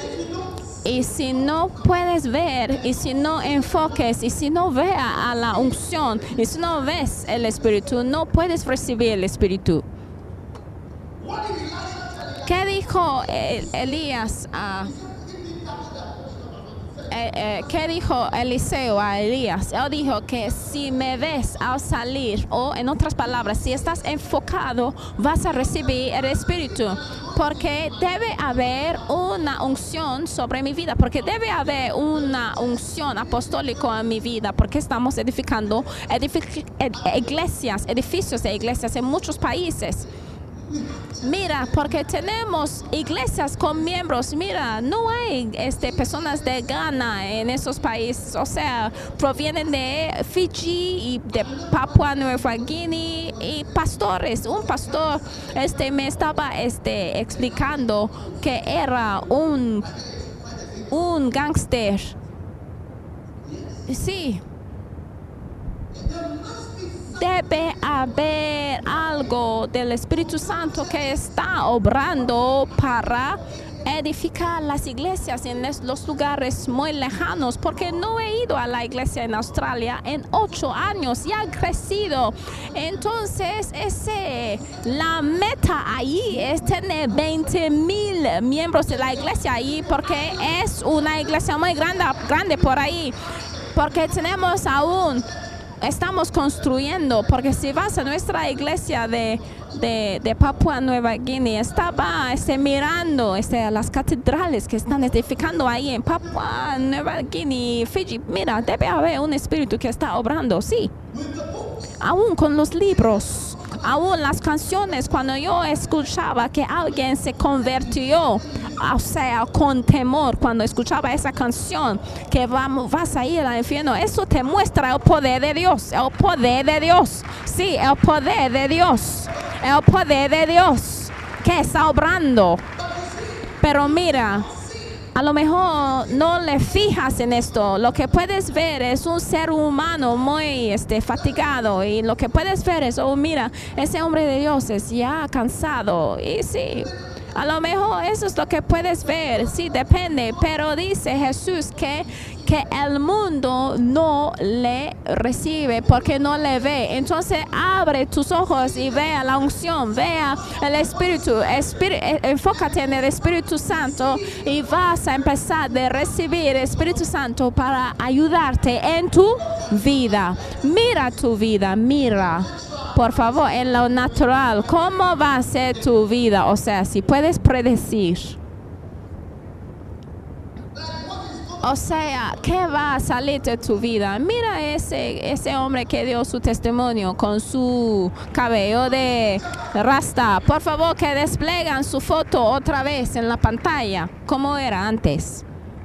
Y si no puedes ver, y si no enfoques, y si no veas a la unción, y si no ves el Espíritu, no puedes recibir el Espíritu. ¿Qué dijo el, Elías a... Eh, eh, ¿Qué dijo Eliseo a Elías? Él dijo que si me ves al salir, o en otras palabras, si estás enfocado, vas a recibir el Espíritu. Porque debe haber una unción sobre mi vida, porque debe haber una unción apostólica en mi vida, porque estamos edificando edific ed iglesias, edificios de iglesias en muchos países. Mira, porque tenemos iglesias con miembros. Mira, no hay este, personas de Ghana en esos países. O sea, provienen de Fiji y de Papua Nueva Guinea y pastores. Un pastor este, me estaba este, explicando que era un, un gángster. Sí. Debe haber algo del Espíritu Santo que está obrando para edificar las iglesias en los lugares muy lejanos, porque no he ido a la iglesia en Australia en ocho años y ha crecido. Entonces ese, la meta ahí es tener veinte mil miembros de la iglesia ahí, porque es una iglesia muy grande, grande por ahí, porque tenemos aún... Estamos construyendo, porque si vas a nuestra iglesia de, de, de Papua Nueva Guinea, estaba este, mirando este, las catedrales que están edificando ahí en Papua Nueva Guinea, Fiji. Mira, debe haber un espíritu que está obrando, sí. Aún con los libros, aún las canciones, cuando yo escuchaba que alguien se convirtió, o sea, con temor, cuando escuchaba esa canción, que vamos, vas a ir al infierno, eso te muestra el poder de Dios, el poder de Dios, sí, el poder de Dios, el poder de Dios que está obrando. Pero mira, a lo mejor no le fijas en esto. Lo que puedes ver es un ser humano muy este, fatigado. Y lo que puedes ver es, oh, mira, ese hombre de Dios es ya cansado. Y sí, a lo mejor eso es lo que puedes ver. Sí, depende. Pero dice Jesús que, que el mundo no le recibe porque no le ve. Entonces abre tus ojos y vea la unción, vea el Espíritu, Espíritu, enfócate en el Espíritu Santo y vas a empezar a recibir el Espíritu Santo para ayudarte en tu vida. Mira tu vida, mira, por favor, en lo natural, ¿cómo va a ser tu vida? O sea, si puedes predecir. O sea, ¿qué va a salir de tu vida? Mira ese, ese hombre que dio su testimonio con su cabello de rasta. Por favor, que desplegan su foto otra vez en la pantalla, como era antes.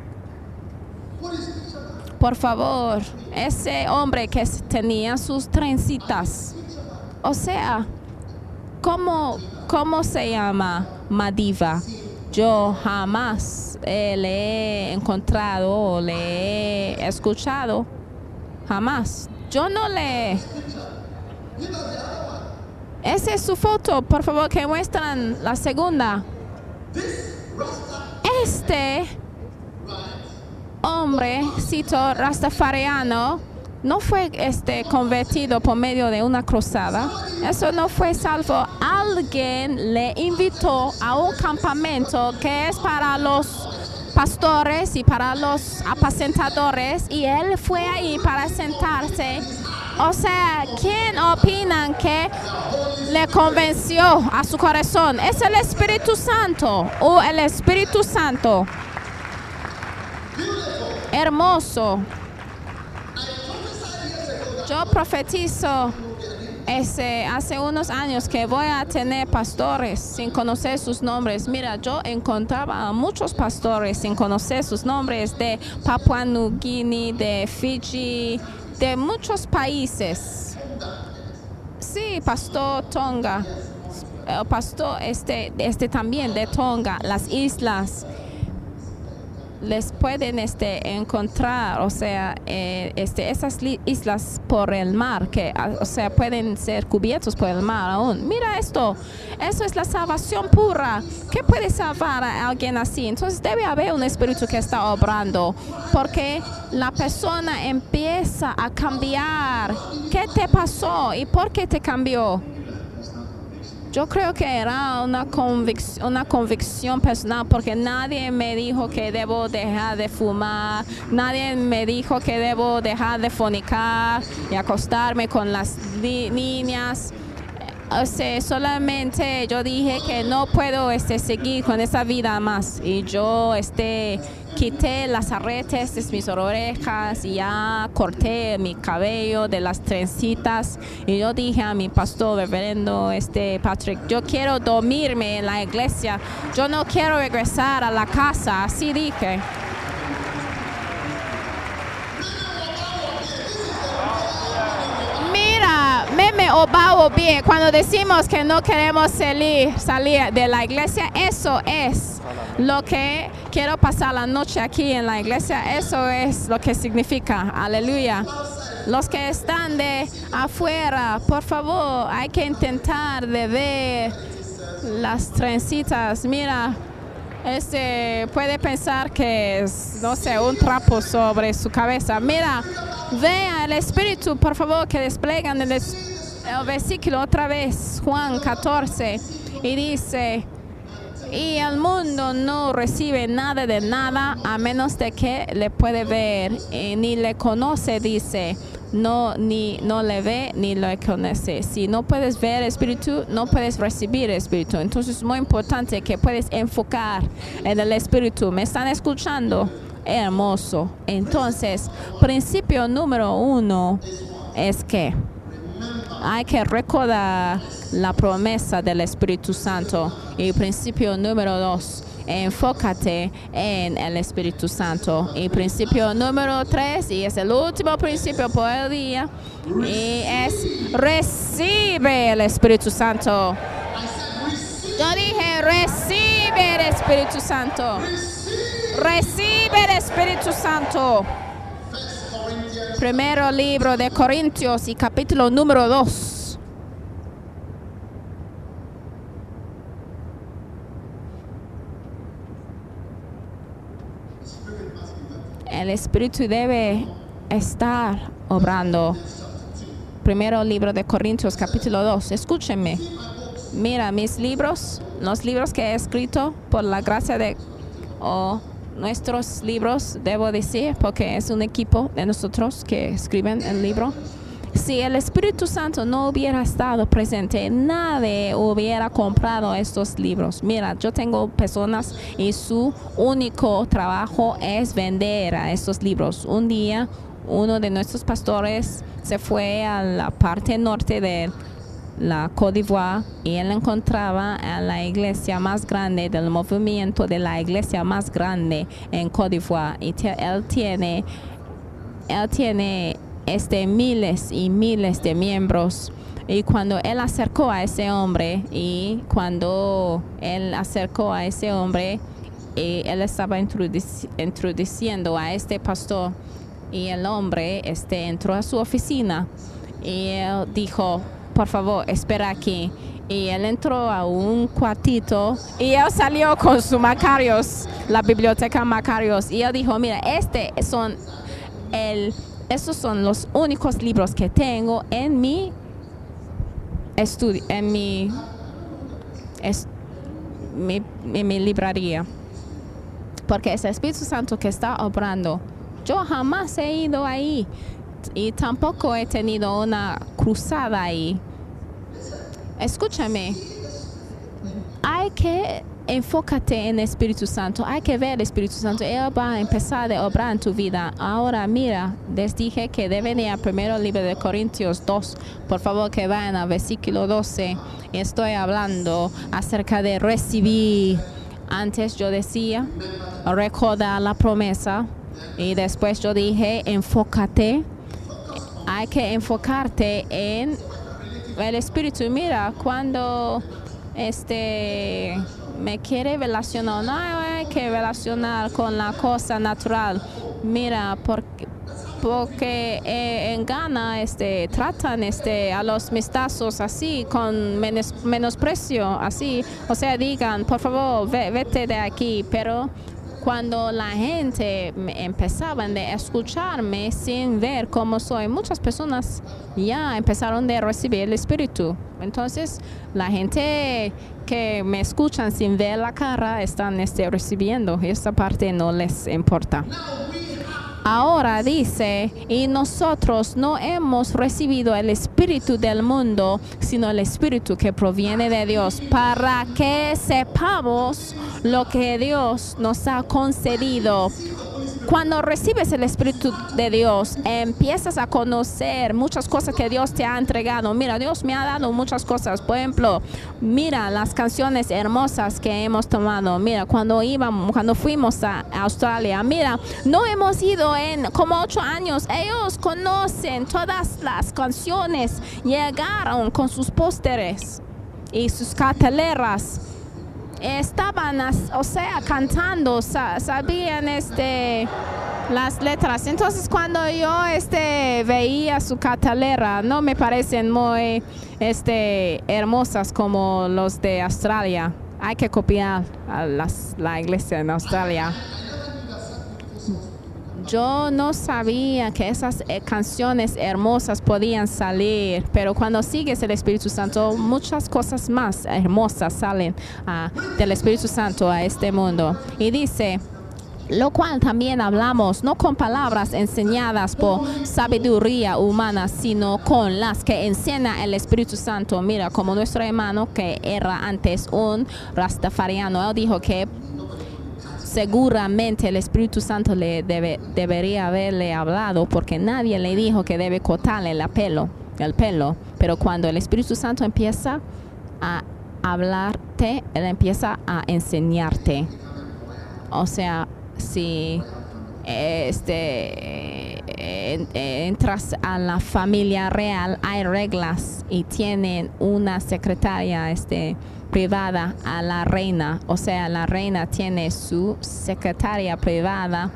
Por favor, ese hombre que tenía sus trencitas. O sea, ¿cómo, cómo se llama Madiva? Yo jamás eh, le he encontrado o le he escuchado. Jamás. Yo no le... Esa es su foto. Por favor, que muestran la segunda. Este hombrecito rastafariano no fue este, convertido por medio de una cruzada. Eso no fue salvo. Alguien le invitó a un campamento que es para los pastores y para los apacentadores, y él fue ahí para sentarse. O sea, ¿quién opinan que le convenció a su corazón? ¿Es el Espíritu Santo o el Espíritu Santo? Hermoso. Yo profetizo ese, hace unos años que voy a tener pastores sin conocer sus nombres. Mira, yo encontraba a muchos pastores sin conocer sus nombres, de Papua Nueva Guinea, de Fiji, de muchos países. Sí, pastor Tonga, el pastor este, este también de Tonga, las islas. Les pueden este, encontrar, o sea, eh, este, esas islas por el mar, que, o sea, pueden ser cubiertos por el mar aún. Mira esto, eso es la salvación pura. ¿Qué puede salvar a alguien así? Entonces debe haber un espíritu que está obrando, porque la persona empieza a cambiar. ¿Qué te pasó y por qué te cambió? Yo creo que era una convicción, una convicción personal, porque nadie me dijo que debo dejar de fumar, nadie me dijo que debo dejar de fornicar y acostarme con las niñas. O sea, solamente yo dije que no puedo este, seguir con esa vida más, y yo este, quité las arretes de mis orejas y ya corté mi cabello de las trencitas, y yo dije a mi pastor, reverendo este, Patrick, yo quiero dormirme en la iglesia, yo no quiero regresar a la casa, así dije. Meme o bao bien, cuando decimos que no queremos salir, salir de la iglesia, eso es lo que quiero pasar la noche aquí en la iglesia, eso es lo que significa, aleluya. Los que están de afuera, por favor, hay que intentar de ver las trencitas. Mira, este puede pensar que es, no sé, un trapo sobre su cabeza. Mira, vea el Espíritu, por favor, que desplegan el, el versículo otra vez, Juan catorce, y dice, y el mundo no recibe nada de nada a menos de que le puede ver, y ni le conoce, dice, no, ni, no le ve ni lo conoce. Si no puedes ver el Espíritu, no puedes recibir el Espíritu. Entonces es muy importante que puedes enfocar en el Espíritu. ¿Me están escuchando? Hermoso. Entonces, principio número uno es que hay que recordar la promesa del Espíritu Santo. Y principio número dos, enfócate en el Espíritu Santo. Y principio número tres, y es el último principio por el día, y es recibe el Espíritu Santo. Yo dije, recibe el Espíritu Santo. Recibe el Espíritu Santo. Primero libro de Corintios y capítulo número dos. El Espíritu debe estar obrando. Primero libro de Corintios capítulo dos. Escúchenme. Mira, mis libros, los libros que he escrito por la gracia de... o nuestros libros, debo decir, porque es un equipo de nosotros que escriben el libro. Si el Espíritu Santo no hubiera estado presente, nadie hubiera comprado estos libros. Mira, yo tengo personas y su único trabajo es vender a estos libros. Un día, uno de nuestros pastores se fue a la parte norte de la Côte d'Ivoire y él encontraba a la iglesia más grande del movimiento de la iglesia más grande en Côte d'Ivoire, y él tiene él tiene este miles y miles de miembros. Y cuando él acercó a ese hombre y cuando él acercó a ese hombre y él estaba introduci introduciendo a este pastor, y el hombre este entró a su oficina y él dijo, por favor, espera aquí. Y él entró a un cuartito y él salió con su Macarios, la biblioteca Macarios. Y él dijo, mira, este son el, estos son los únicos libros que tengo en mi estudio, en mi, es, mi, en mi librería. Porque es el Espíritu Santo que está obrando. Yo jamás he ido ahí. Y tampoco he tenido una cruzada ahí. Escúchame. Hay que enfócate en el Espíritu Santo. Hay que ver el Espíritu Santo. Él va a empezar a obrar en tu vida. Ahora mira, les dije que deben ir al primero libro de Corintios dos. Por favor, que vayan al versículo doce. Estoy hablando acerca de recibir. Antes yo decía, recordar la promesa. Y después yo dije, enfócate. Hay que enfocarte en el Espíritu. Mira, cuando este me quiere relacionar, no hay que relacionar con la cosa natural. Mira, porque, porque eh, en Ghana este, tratan este, a los mestizos así, con menos, menosprecio, así. O sea, digan, por favor, ve, vete de aquí, pero... Cuando la gente empezaban a escucharme sin ver cómo soy, muchas personas ya empezaron a recibir el Espíritu. Entonces, la gente que me escuchan sin ver la cara están este, recibiendo. Esta parte no les importa. Ahora dice, y nosotros no hemos recibido el Espíritu del mundo, sino el Espíritu que proviene de Dios, para que sepamos lo que Dios nos ha concedido. Cuando recibes el Espíritu de Dios, empiezas a conocer muchas cosas que Dios te ha entregado. Mira, Dios me ha dado muchas cosas. Por ejemplo, mira las canciones hermosas que hemos tomado. Mira, cuando íbamos, cuando fuimos a Australia, mira, no hemos ido en como ocho años. Ellos conocen todas las canciones. Llegaron con sus pósteres y sus carteleras. Estaban, o sea, cantando, sabían este, las letras. Entonces, cuando yo este, veía su cartelera, no me parecen muy este, hermosas como los de Australia. Hay que copiar a las, la iglesia en Australia. Yo no sabía que esas eh, canciones hermosas podían salir, pero cuando sigues el Espíritu Santo, muchas cosas más hermosas salen uh, del Espíritu Santo a este mundo. Y dice, lo cual también hablamos, no con palabras enseñadas por sabiduría humana, sino con las que enseña el Espíritu Santo. Mira, como nuestro hermano que era antes un rastafariano, él dijo que seguramente el Espíritu Santo le debe, debería haberle hablado, porque nadie le dijo que debe cortarle el pelo, el pelo. Pero cuando el Espíritu Santo empieza a hablarte, Él empieza a enseñarte. O sea, si este, entras a la familia real, hay reglas y tienen una secretaria este, privada a la reina. O sea, la reina tiene su secretaria privada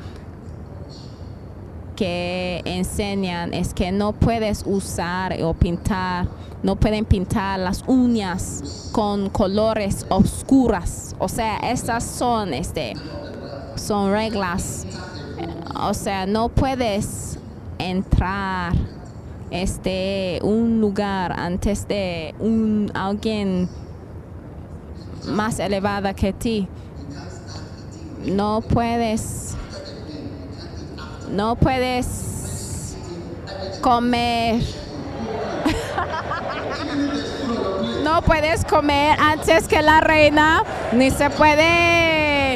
que enseñan es que no puedes usar o pintar, no pueden pintar las uñas con colores oscuras. O sea, estas son, este, son reglas. O sea, no puedes entrar este un lugar antes de un alguien más elevada que ti. No puedes no puedes comer no puedes comer antes que la reina, ni se puede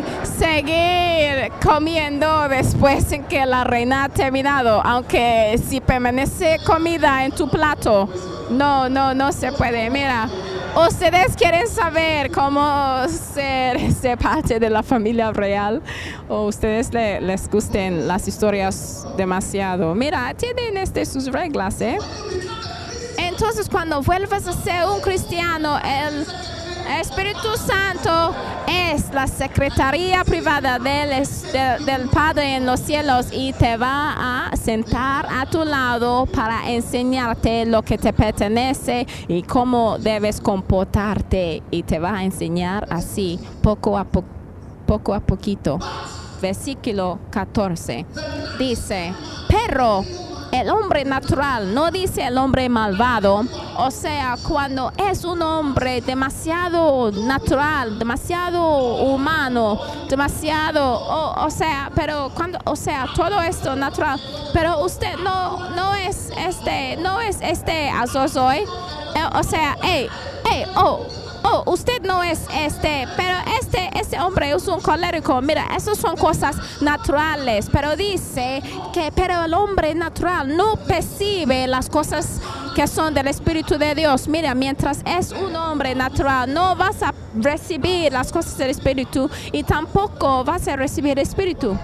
seguir comiendo después en que la reina ha terminado, aunque si permanece comida en tu plato, no, no, no se puede. Mira, ¿ustedes quieren saber cómo ser, ser parte de la familia real? ¿O ustedes le, les gusten las historias demasiado? Mira, tienen este, sus reglas, ¿eh? Entonces, cuando vuelves a ser un cristiano, el Espíritu Santo es la secretaría privada del, de, del Padre en los cielos y te va a sentar a tu lado para enseñarte lo que te pertenece y cómo debes comportarte, y te va a enseñar así poco a, po poco a poquito. Versículo catorce dice, pero el hombre natural, no dice el hombre malvado. O sea, cuando es un hombre demasiado natural, demasiado humano, demasiado, o, o sea, pero cuando, o sea, todo esto natural, pero usted no, no es este, no es este azozoy, eh, o sea, hey, hey, oh, oh, usted no es este, pero este, este hombre es un colérico. Mira, esas son cosas naturales, pero dice que, pero el hombre natural no percibe las cosas que son del Espíritu de Dios. Mira, mientras es un hombre natural, no vas a recibir las cosas del Espíritu y tampoco vas a recibir el Espíritu.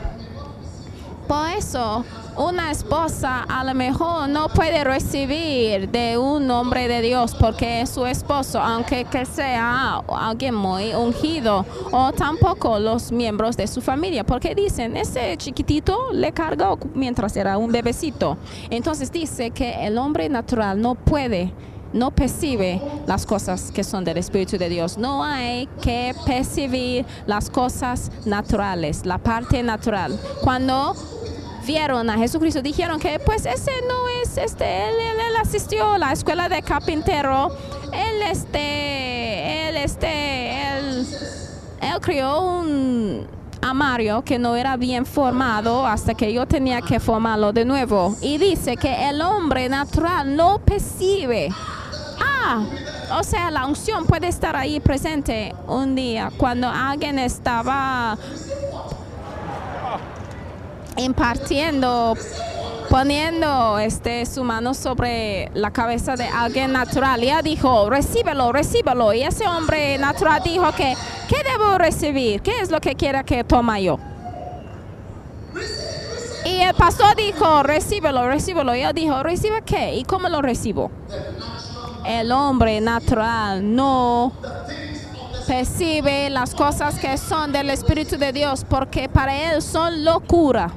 Por eso, una esposa a lo mejor no puede recibir de un hombre de Dios porque es su esposo, aunque que sea alguien muy ungido, o tampoco los miembros de su familia, porque dicen, ese chiquitito le cargó mientras era un bebecito. Entonces dice que el hombre natural no puede, no percibe las cosas que son del Espíritu de Dios. No hay que percibir las cosas naturales, la parte natural. Cuando vieron a Jesucristo, dijeron que pues ese no es este, él, él, él asistió a la escuela de carpintero, él este, él este, él, él crió un armario que no era bien formado hasta que yo tenía que formarlo de nuevo. Y dice que el hombre natural no percibe. Ah, o sea, la unción puede estar ahí presente un día cuando alguien estaba impartiendo, poniendo este, su mano sobre la cabeza de alguien natural. Y ella dijo, recíbelo, recíbelo. Y ese hombre natural dijo que, ¿qué debo recibir? ¿Qué es lo que quiera que tome yo? Y el pastor dijo, recíbelo, recíbelo. Y él dijo, ¿recibe qué? ¿Y cómo lo recibo? El hombre natural no percibe las cosas que son del Espíritu de Dios porque para él son locura.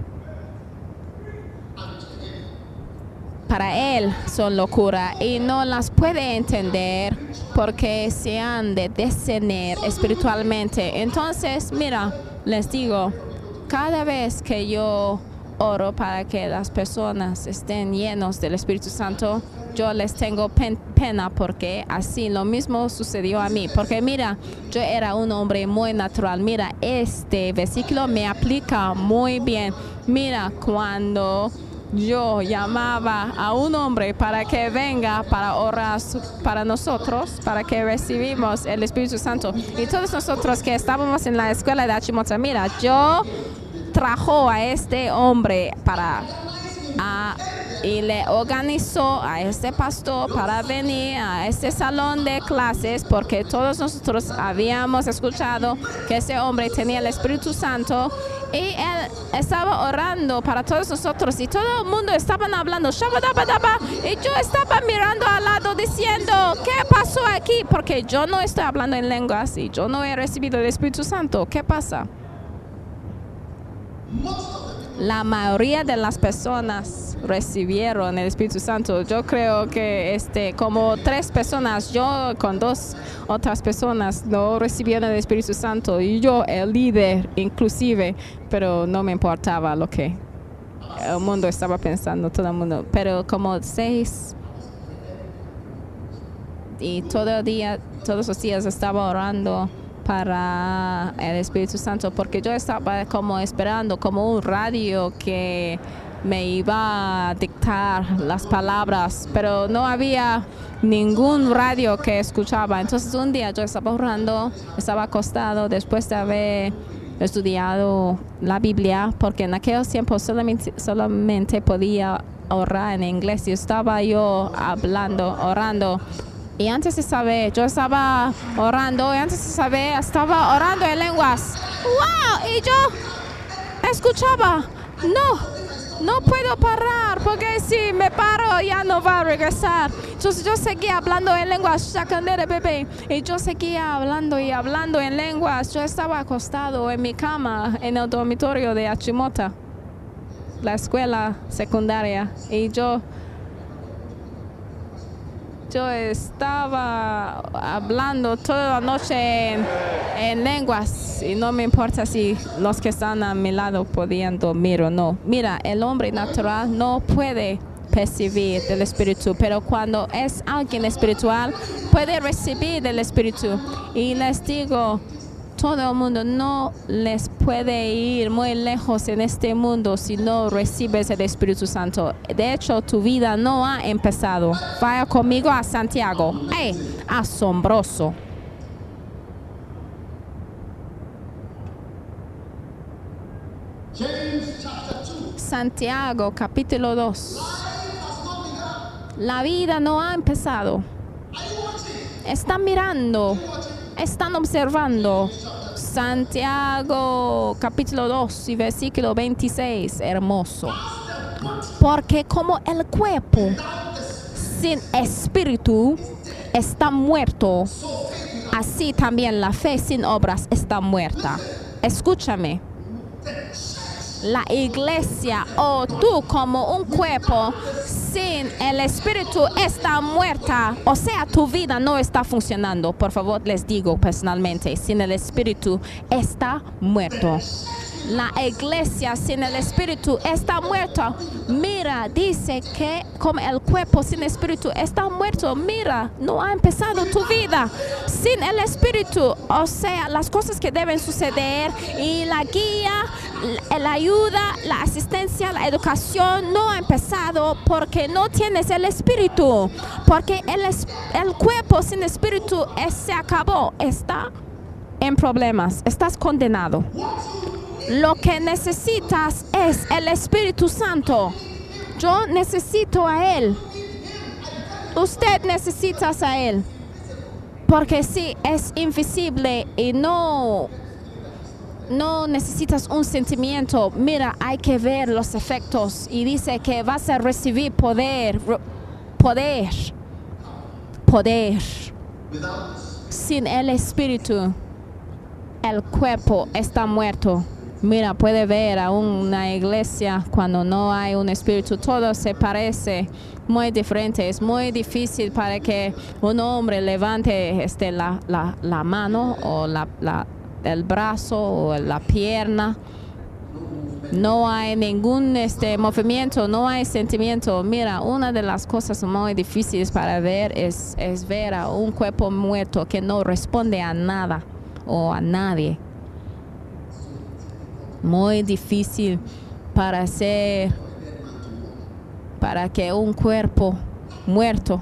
Para él son locura y no las puede entender porque se han de discernir espiritualmente. Entonces, mira, les digo, cada vez que yo oro para que las personas estén llenos del Espíritu Santo, yo les tengo pen pena porque así lo mismo sucedió a mí. Porque mira, yo era un hombre muy natural. Mira, este versículo me aplica muy bien. Mira, cuando yo llamaba a un hombre para que venga para orar para nosotros, para que recibimos el Espíritu Santo. Y todos nosotros que estábamos en la escuela de Achimota, mira, yo trajo a este hombre para a y le organizó a este pastor para venir a este salón de clases, porque todos nosotros habíamos escuchado que ese hombre tenía el Espíritu Santo, y él estaba orando para todos nosotros y todo el mundo estaba hablando shabadabadaba, y yo estaba mirando al lado diciendo, ¿qué pasó aquí? Porque yo no estoy hablando en lenguas y yo no he recibido el Espíritu Santo. ¿Qué pasa? La mayoría de las personas recibieron el Espíritu Santo. Yo creo que este, como tres personas, yo con dos otras personas no recibieron el Espíritu Santo, y yo el líder inclusive, pero no me importaba lo que el mundo estaba pensando, todo el mundo. Pero como seis, y todo el día, todos los días estaba orando para el Espíritu Santo, porque yo estaba como esperando como un radio que me iba a dictar las palabras, pero no había ningún radio que escuchaba. Entonces un día yo estaba orando, estaba acostado después de haber estudiado la Biblia, porque en aquellos tiempos solamente, solamente podía orar en inglés, y estaba yo hablando, orando. Y antes de saber, yo estaba orando, y antes de saber, estaba orando en lenguas. ¡Wow! Y yo escuchaba, no, no puedo parar, porque si me paro ya no va a regresar. Entonces yo seguía hablando en lenguas, chacandere bebé, y yo seguía hablando y hablando en lenguas. Yo estaba acostado en mi cama en el dormitorio de Achimota, la escuela secundaria, y yo... Yo estaba hablando toda la noche en, en lenguas, y no me importa si los que están a mi lado podían dormir o no. Mira, el hombre natural no puede percibir del Espíritu, pero cuando es alguien espiritual puede recibir del Espíritu. Y les digo, todo el mundo no les puede ir muy lejos en este mundo si no recibes el Espíritu Santo. De hecho, tu vida no ha empezado. Vaya conmigo a Santiago. ¡Ey! Asombroso. Santiago, capítulo dos. La vida no ha empezado. Están mirando. Están observando. Santiago capítulo dos y versículo veintiséis, hermoso. Porque como el cuerpo sin espíritu está muerto, así también la fe sin obras está muerta. Escúchame. La iglesia o tú como un cuerpo sin el Espíritu está muerta. O sea, tu vida no está funcionando. Por favor, les digo personalmente, sin el Espíritu está muerto. La iglesia sin el Espíritu está muerta. Mira, dice que como el cuerpo sin Espíritu está muerto. Mira, no ha empezado tu vida sin el Espíritu. O sea, las cosas que deben suceder y la guía, la ayuda, la asistencia, la educación no ha empezado porque no tienes el Espíritu. Porque el, el cuerpo sin Espíritu es, se acabó. Está en problemas. Estás condenado. Lo que necesitas es el Espíritu Santo. Yo necesito a Él. Usted necesita a Él. Porque si es invisible y no, no necesitas un sentimiento, mira, hay que ver los efectos. Y dice que vas a recibir poder. Poder. Poder. Sin el Espíritu, el cuerpo está muerto. Mira, puede ver a una iglesia cuando no hay un espíritu, todo se parece muy diferente. Es muy difícil para que un hombre levante este, la, la, la mano o la, la, el brazo o la pierna. No hay ningún este, movimiento, no hay sentimiento. Mira, una de las cosas muy difíciles para ver es, es ver a un cuerpo muerto que no responde a nada o a nadie. Muy difícil para hacer, para que un cuerpo muerto.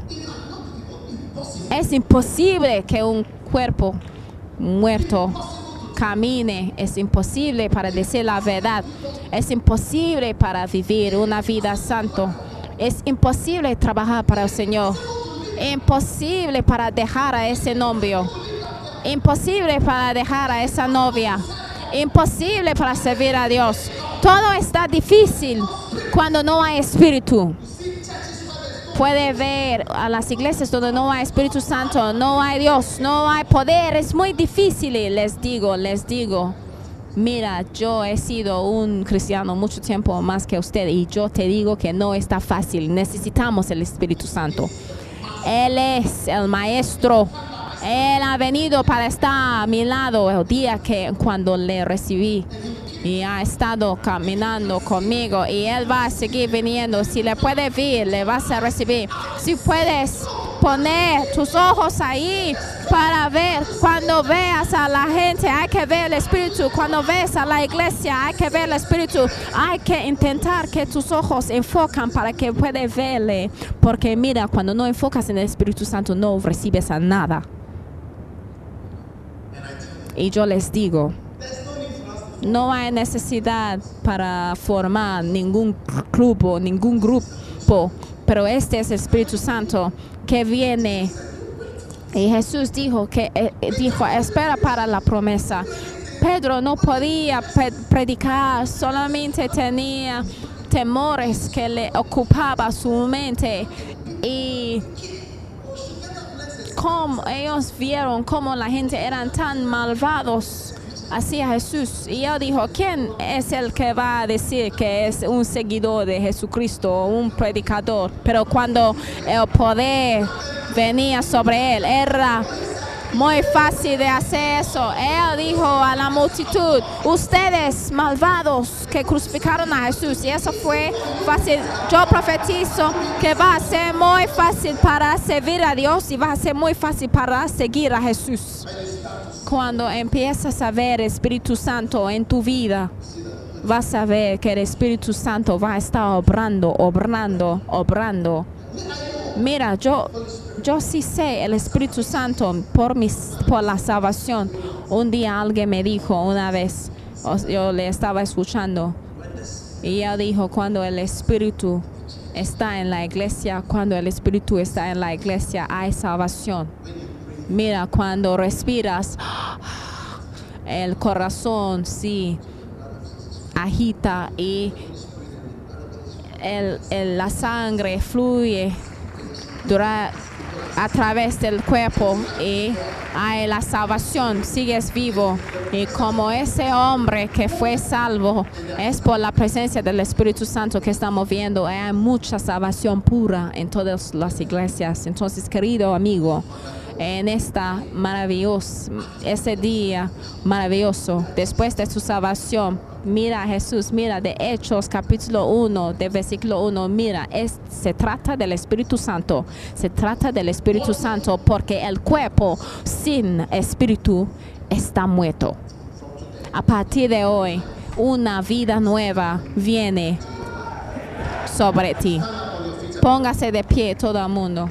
Es imposible que un cuerpo muerto camine. Es imposible para decir la verdad. Es imposible para vivir una vida santa. Es imposible trabajar para el Señor. Imposible para dejar a ese novio. Imposible para dejar a esa novia. Imposible para servir a Dios. Todo está difícil cuando no hay Espíritu. Puede ver a las iglesias donde no hay Espíritu Santo, no hay Dios, no hay poder. Es muy difícil. Les digo, les digo. Mira, yo he sido un cristiano mucho tiempo más que usted y yo te digo que no está fácil. Necesitamos el Espíritu Santo. Él es el maestro. Él ha venido para estar a mi lado el día que cuando le recibí. Y ha estado caminando conmigo y Él va a seguir viniendo. Si le puedes ver, le vas a recibir. Si puedes poner tus ojos ahí para ver, cuando veas a la gente, hay que ver el Espíritu. Cuando ves a la iglesia, hay que ver el Espíritu. Hay que intentar que tus ojos enfocan para que puedas verle. Porque mira, cuando no enfocas en el Espíritu Santo, no recibes a nada. Y yo les digo, no hay necesidad para formar ningún grupo, ningún grupo, pero este es el Espíritu Santo que viene. Y Jesús dijo que eh, dijo, espera para la promesa. Pedro no podía pe- predicar, solamente tenía temores que le ocupaba su mente. Y como ellos vieron cómo la gente eran tan malvados hacia Jesús, y él dijo, ¿quién es el que va a decir que es un seguidor de Jesucristo, un predicador? Pero cuando el poder venía sobre él, era muy fácil de hacer eso. Él dijo a la multitud, ustedes malvados que crucificaron a Jesús, y eso fue fácil. Yo profetizo que va a ser muy fácil para servir a Dios y va a ser muy fácil para seguir a Jesús. Cuando empiezas a ver el Espíritu Santo en tu vida, vas a ver que el Espíritu Santo va a estar obrando, obrando, obrando. Mira, yo, yo sí sé el Espíritu Santo por, mis, por la salvación. Un día alguien me dijo una vez, yo le estaba escuchando, y él dijo, cuando el Espíritu está en la iglesia, cuando el Espíritu está en la iglesia, hay salvación. Mira, cuando respiras, el corazón sí agita y el, el, la sangre fluye dura, a través del cuerpo y hay la salvación, sigues vivo. Y como ese hombre que fue salvo es por la presencia del Espíritu Santo que estamos viendo, hay mucha salvación pura en todas las iglesias. Entonces, querido amigo, en esta maravillosa, ese día maravilloso, después de su salvación, mira a Jesús, mira de Hechos capítulo uno, de versículo uno, mira, es, se trata del Espíritu Santo, se trata del Espíritu Santo porque el cuerpo sin Espíritu está muerto. A partir de hoy, una vida nueva viene sobre ti. Póngase de pie todo el mundo.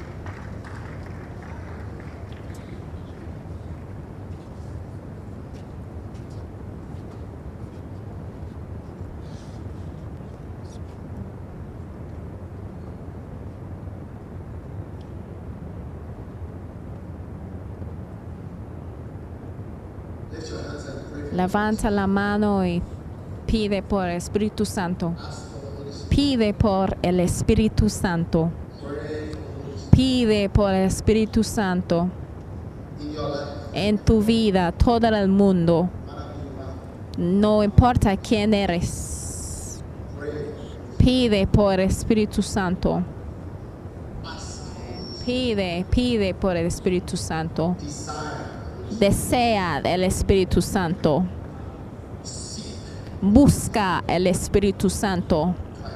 Levanta la mano y pide por el Espíritu Santo. Pide por el Espíritu Santo. Pide por el Espíritu Santo en tu vida, todo el mundo. No importa quién eres. Pide por el Espíritu Santo. Pide, pide por el Espíritu Santo. Desea el Espíritu Santo. Busca el Espíritu Santo.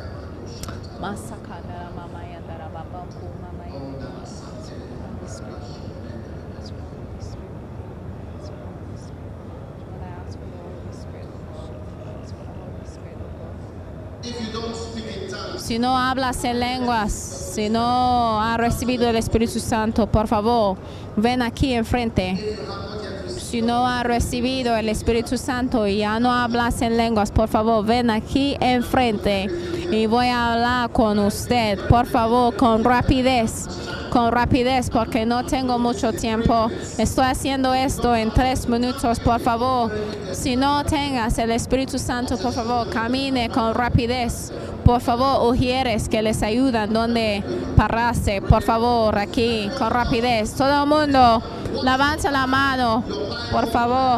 Si no hablas en lenguas, si no has recibido el Espíritu Santo, por favor, ven aquí enfrente. si no has recibido el Espíritu Santo y ya no hablas en lenguas, por favor, ven aquí enfrente y voy a hablar con usted. Por favor, con rapidez. Con rapidez, porque no tengo mucho tiempo. Estoy haciendo esto en tres minutos, por favor. Si no tengas el Espíritu Santo, por favor, camine con rapidez. Por favor, ujieres que les ayudan donde pararse. Por favor, aquí, con rapidez. Todo el mundo, levanta la mano, por favor.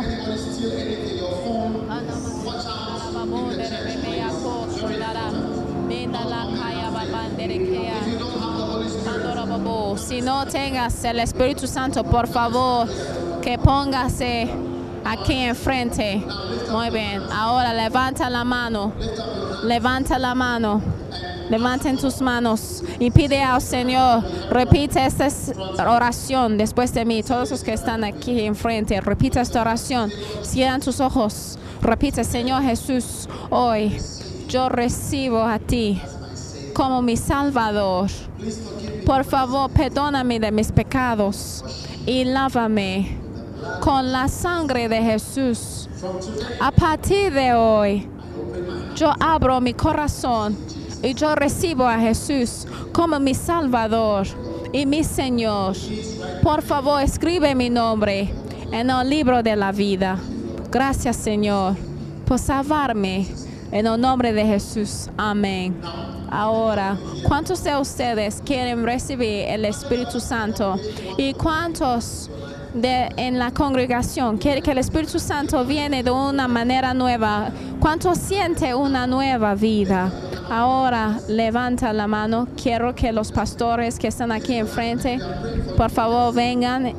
Si no tengas el Espíritu Santo, por favor, que póngase aquí enfrente. Muy bien. Ahora levanta la mano. Levanta la mano. Levanten tus manos y pide al Señor. Repite esta oración después de mí. Todos los que están aquí enfrente, repite esta oración. Cierran tus ojos. Repite: Señor Jesús, hoy yo recibo a ti como mi Salvador. Por favor, perdóname de mis pecados y lávame con la sangre de Jesús. A partir de hoy, yo abro mi corazón y yo recibo a Jesús como mi Salvador y mi Señor. Por favor, escribe mi nombre en el libro de la vida. Gracias, Señor, por salvarme. En el nombre de Jesús. Amén. Ahora, ¿cuántos de ustedes quieren recibir el Espíritu Santo? ¿Y cuántos de, en la congregación quieren que el Espíritu Santo viene de una manera nueva? ¿Cuántos sienten una nueva vida? Ahora, levanta la mano. Quiero que los pastores que están aquí enfrente, por favor, vengan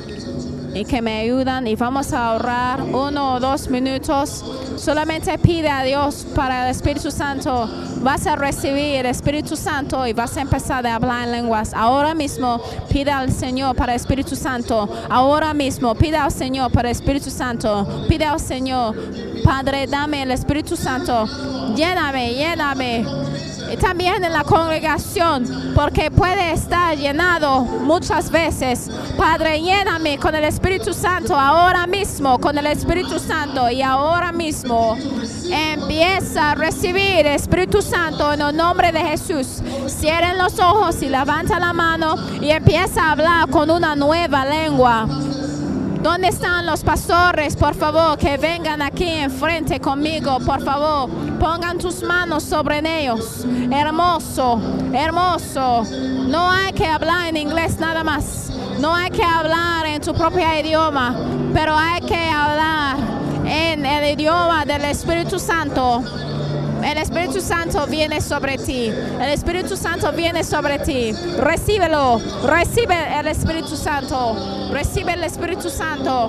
y que me ayudan, y vamos a orar uno o dos minutos. Solamente pide a Dios para el Espíritu Santo. Vas a recibir el Espíritu Santo y vas a empezar a hablar en lenguas. Ahora mismo pide al Señor para el Espíritu Santo. Ahora mismo pide al Señor para el Espíritu Santo. Pide al Señor: Padre, dame el Espíritu Santo. Lléname, lléname. Y también en la congregación, porque puede estar llenado muchas veces. Padre, lléname con el Espíritu Santo ahora mismo, con el Espíritu Santo. Y ahora mismo empieza a recibir el Espíritu Santo en el nombre de Jesús. Cierren los ojos y levanta la mano y empieza a hablar con una nueva lengua. ¿Dónde están los pastores? Por favor, que vengan aquí enfrente conmigo. Por favor, pongan tus manos sobre ellos. Hermoso, hermoso. No hay que hablar en inglés nada más. No hay que hablar en tu propio idioma, pero hay que hablar en el idioma del Espíritu Santo. El Espíritu Santo viene sobre ti. El Espíritu Santo viene sobre ti. Recíbelo. Recibe el Espíritu Santo. Recibe el Espíritu Santo.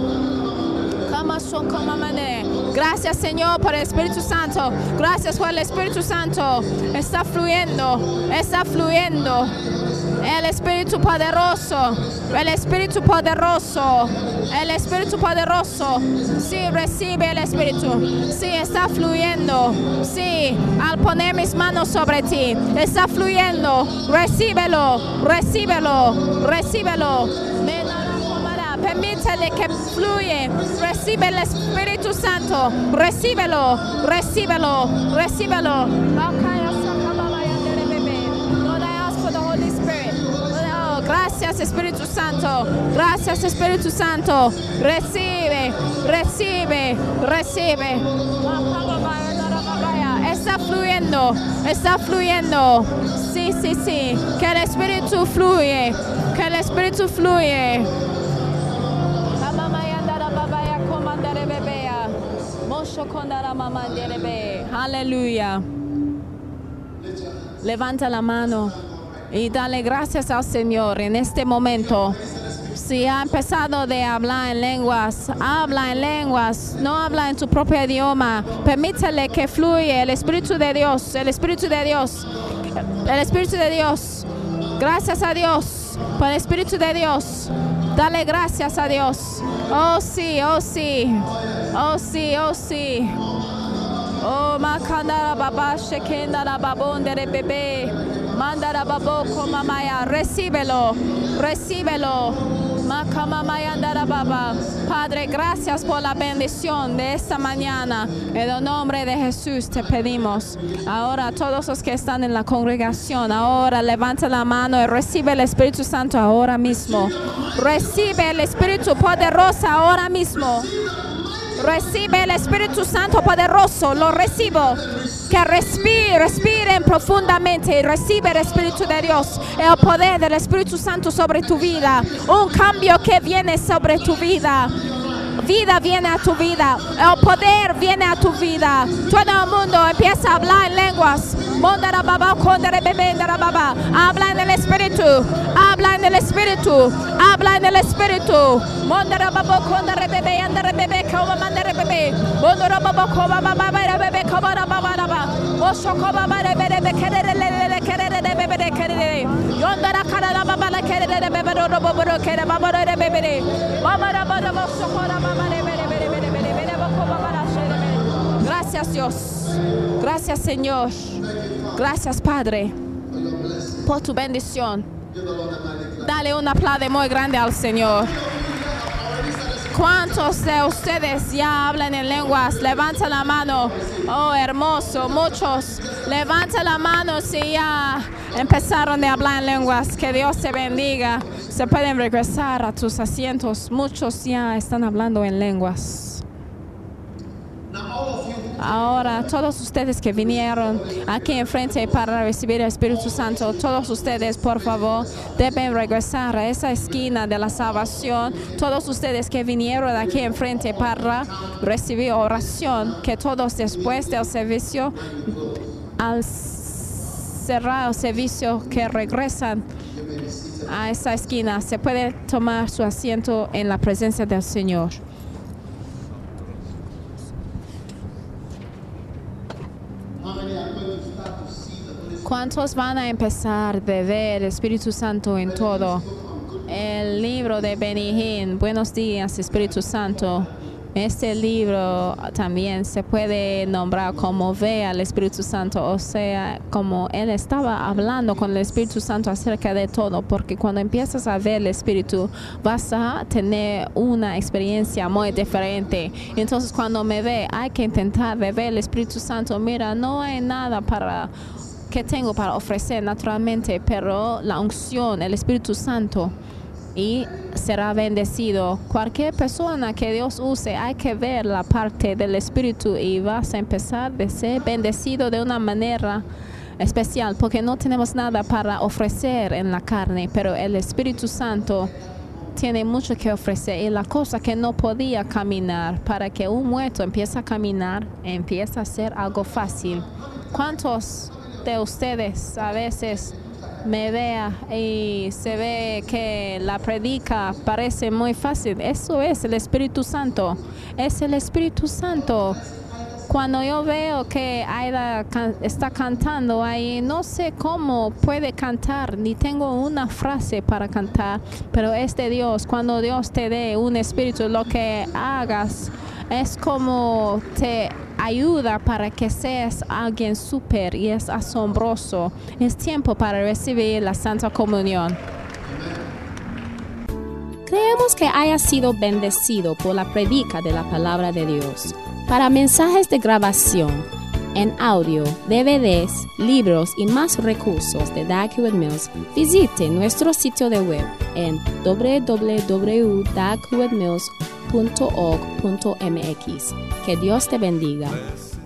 Gracias, Señor, por el Espíritu Santo. Gracias por el Espíritu Santo. Está fluyendo. Está fluyendo. El Espíritu poderoso. El Espíritu poderoso. El Espíritu poderoso. Sí, recibe el Espíritu. Sí, está fluyendo. Sí, al poner mis manos sobre ti, está fluyendo. Recíbelo. Recíbelo. Recíbelo. Permítele que fluye. Recibe el Espíritu Santo. Recíbelo. Recíbelo. Recíbelo. Gracias, Espíritu Santo. Gracias, Espíritu Santo. Recibe, recibe, recibe. Está fluyendo, está fluyendo. Sí, sí, sí. Que el Espíritu fluye. Que el Espíritu fluye. Aleluya. Levanta la mano y dale gracias al Señor en este momento. Si ha empezado de hablar en lenguas, habla en lenguas, no habla en tu propio idioma. Permítele que fluya el Espíritu de Dios, el Espíritu de Dios, el Espíritu de Dios. Gracias a Dios por el Espíritu de Dios. Dale gracias a Dios. Oh sí, oh sí, oh sí, oh sí. Oh, makandara baba shekendara babondere bebé. Mandara babo komamaya. Recíbelo, recíbelo. Makamamaya andara baba. Padre, gracias por la bendición de esta mañana. En el nombre de Jesús te pedimos. Ahora todos los que están en la congregación, ahora levanta la mano y recibe el Espíritu Santo ahora mismo. Recibe el Espíritu poderoso ahora mismo. Recibe el Espíritu Santo poderoso, lo recibo. Que respire, respiren profundamente y recibe el Espíritu de Dios, el poder del Espíritu Santo sobre tu vida. Un cambio que viene sobre tu vida. Vida viene a tu vida, el poder viene a tu vida. Todo el mundo empieza a hablar en lenguas. Habla en el Espíritu, habla en el Espíritu, habla en el Espíritu. Gracias Dios, gracias Señor, gracias Padre por tu bendición. Dale un aplauso muy grande al Señor. ¿Cuántos de ustedes ya hablan en lenguas? Levanta la mano. Oh, hermoso, muchos. Levanta la mano si ya empezaron a hablar en lenguas. Que Dios te bendiga. Se pueden regresar a tus asientos. Muchos ya están hablando en lenguas. Ahora, todos ustedes que vinieron aquí enfrente para recibir el Espíritu Santo, todos ustedes, por favor, deben regresar a esa esquina de la salvación. Todos ustedes que vinieron aquí enfrente para recibir oración, que todos después del servicio, al cerrar el servicio, que regresan a esa esquina, se puede tomar su asiento en la presencia del Señor. ¿Cuántos van a empezar a ver el Espíritu Santo en todo? El libro de Benny Hinn, Buenos días, Espíritu Santo. Este libro también se puede nombrar como Ve al Espíritu Santo, o sea, como él estaba hablando con el Espíritu Santo acerca de todo, porque cuando empiezas a ver el Espíritu vas a tener una experiencia muy diferente. Entonces cuando me ve, hay que intentar de ver el Espíritu Santo. Mira, no hay nada para que tengo para ofrecer naturalmente, pero la unción, el Espíritu Santo, y será bendecido. Cualquier persona que Dios use, hay que ver la parte del Espíritu y vas a empezar a ser bendecido de una manera especial, porque no tenemos nada para ofrecer en la carne, pero el Espíritu Santo tiene mucho que ofrecer. Y la cosa que no podía caminar, para que un muerto empiece a caminar, empieza a ser algo fácil. ¿Cuántos de ustedes a veces me vea y se ve que la predica parece muy fácil? Eso es el Espíritu Santo, es el Espíritu Santo. Cuando yo veo que Aida can- está cantando ahí, no sé cómo puede cantar, ni tengo una frase para cantar, pero es de Dios. Cuando Dios te dé un espíritu, lo que hagas es como te ayuda para que seas alguien súper y es asombroso. Es tiempo para recibir la Santa Comunión.
Creemos que haya sido bendecido por la predica de la palabra de Dios. Para mensajes de grabación, en audio, D V Ds, libros y más recursos de Dag Heward Mills, visite nuestro sitio de web en w w w punto dag heward mills punto org punto m x. Que Dios te bendiga.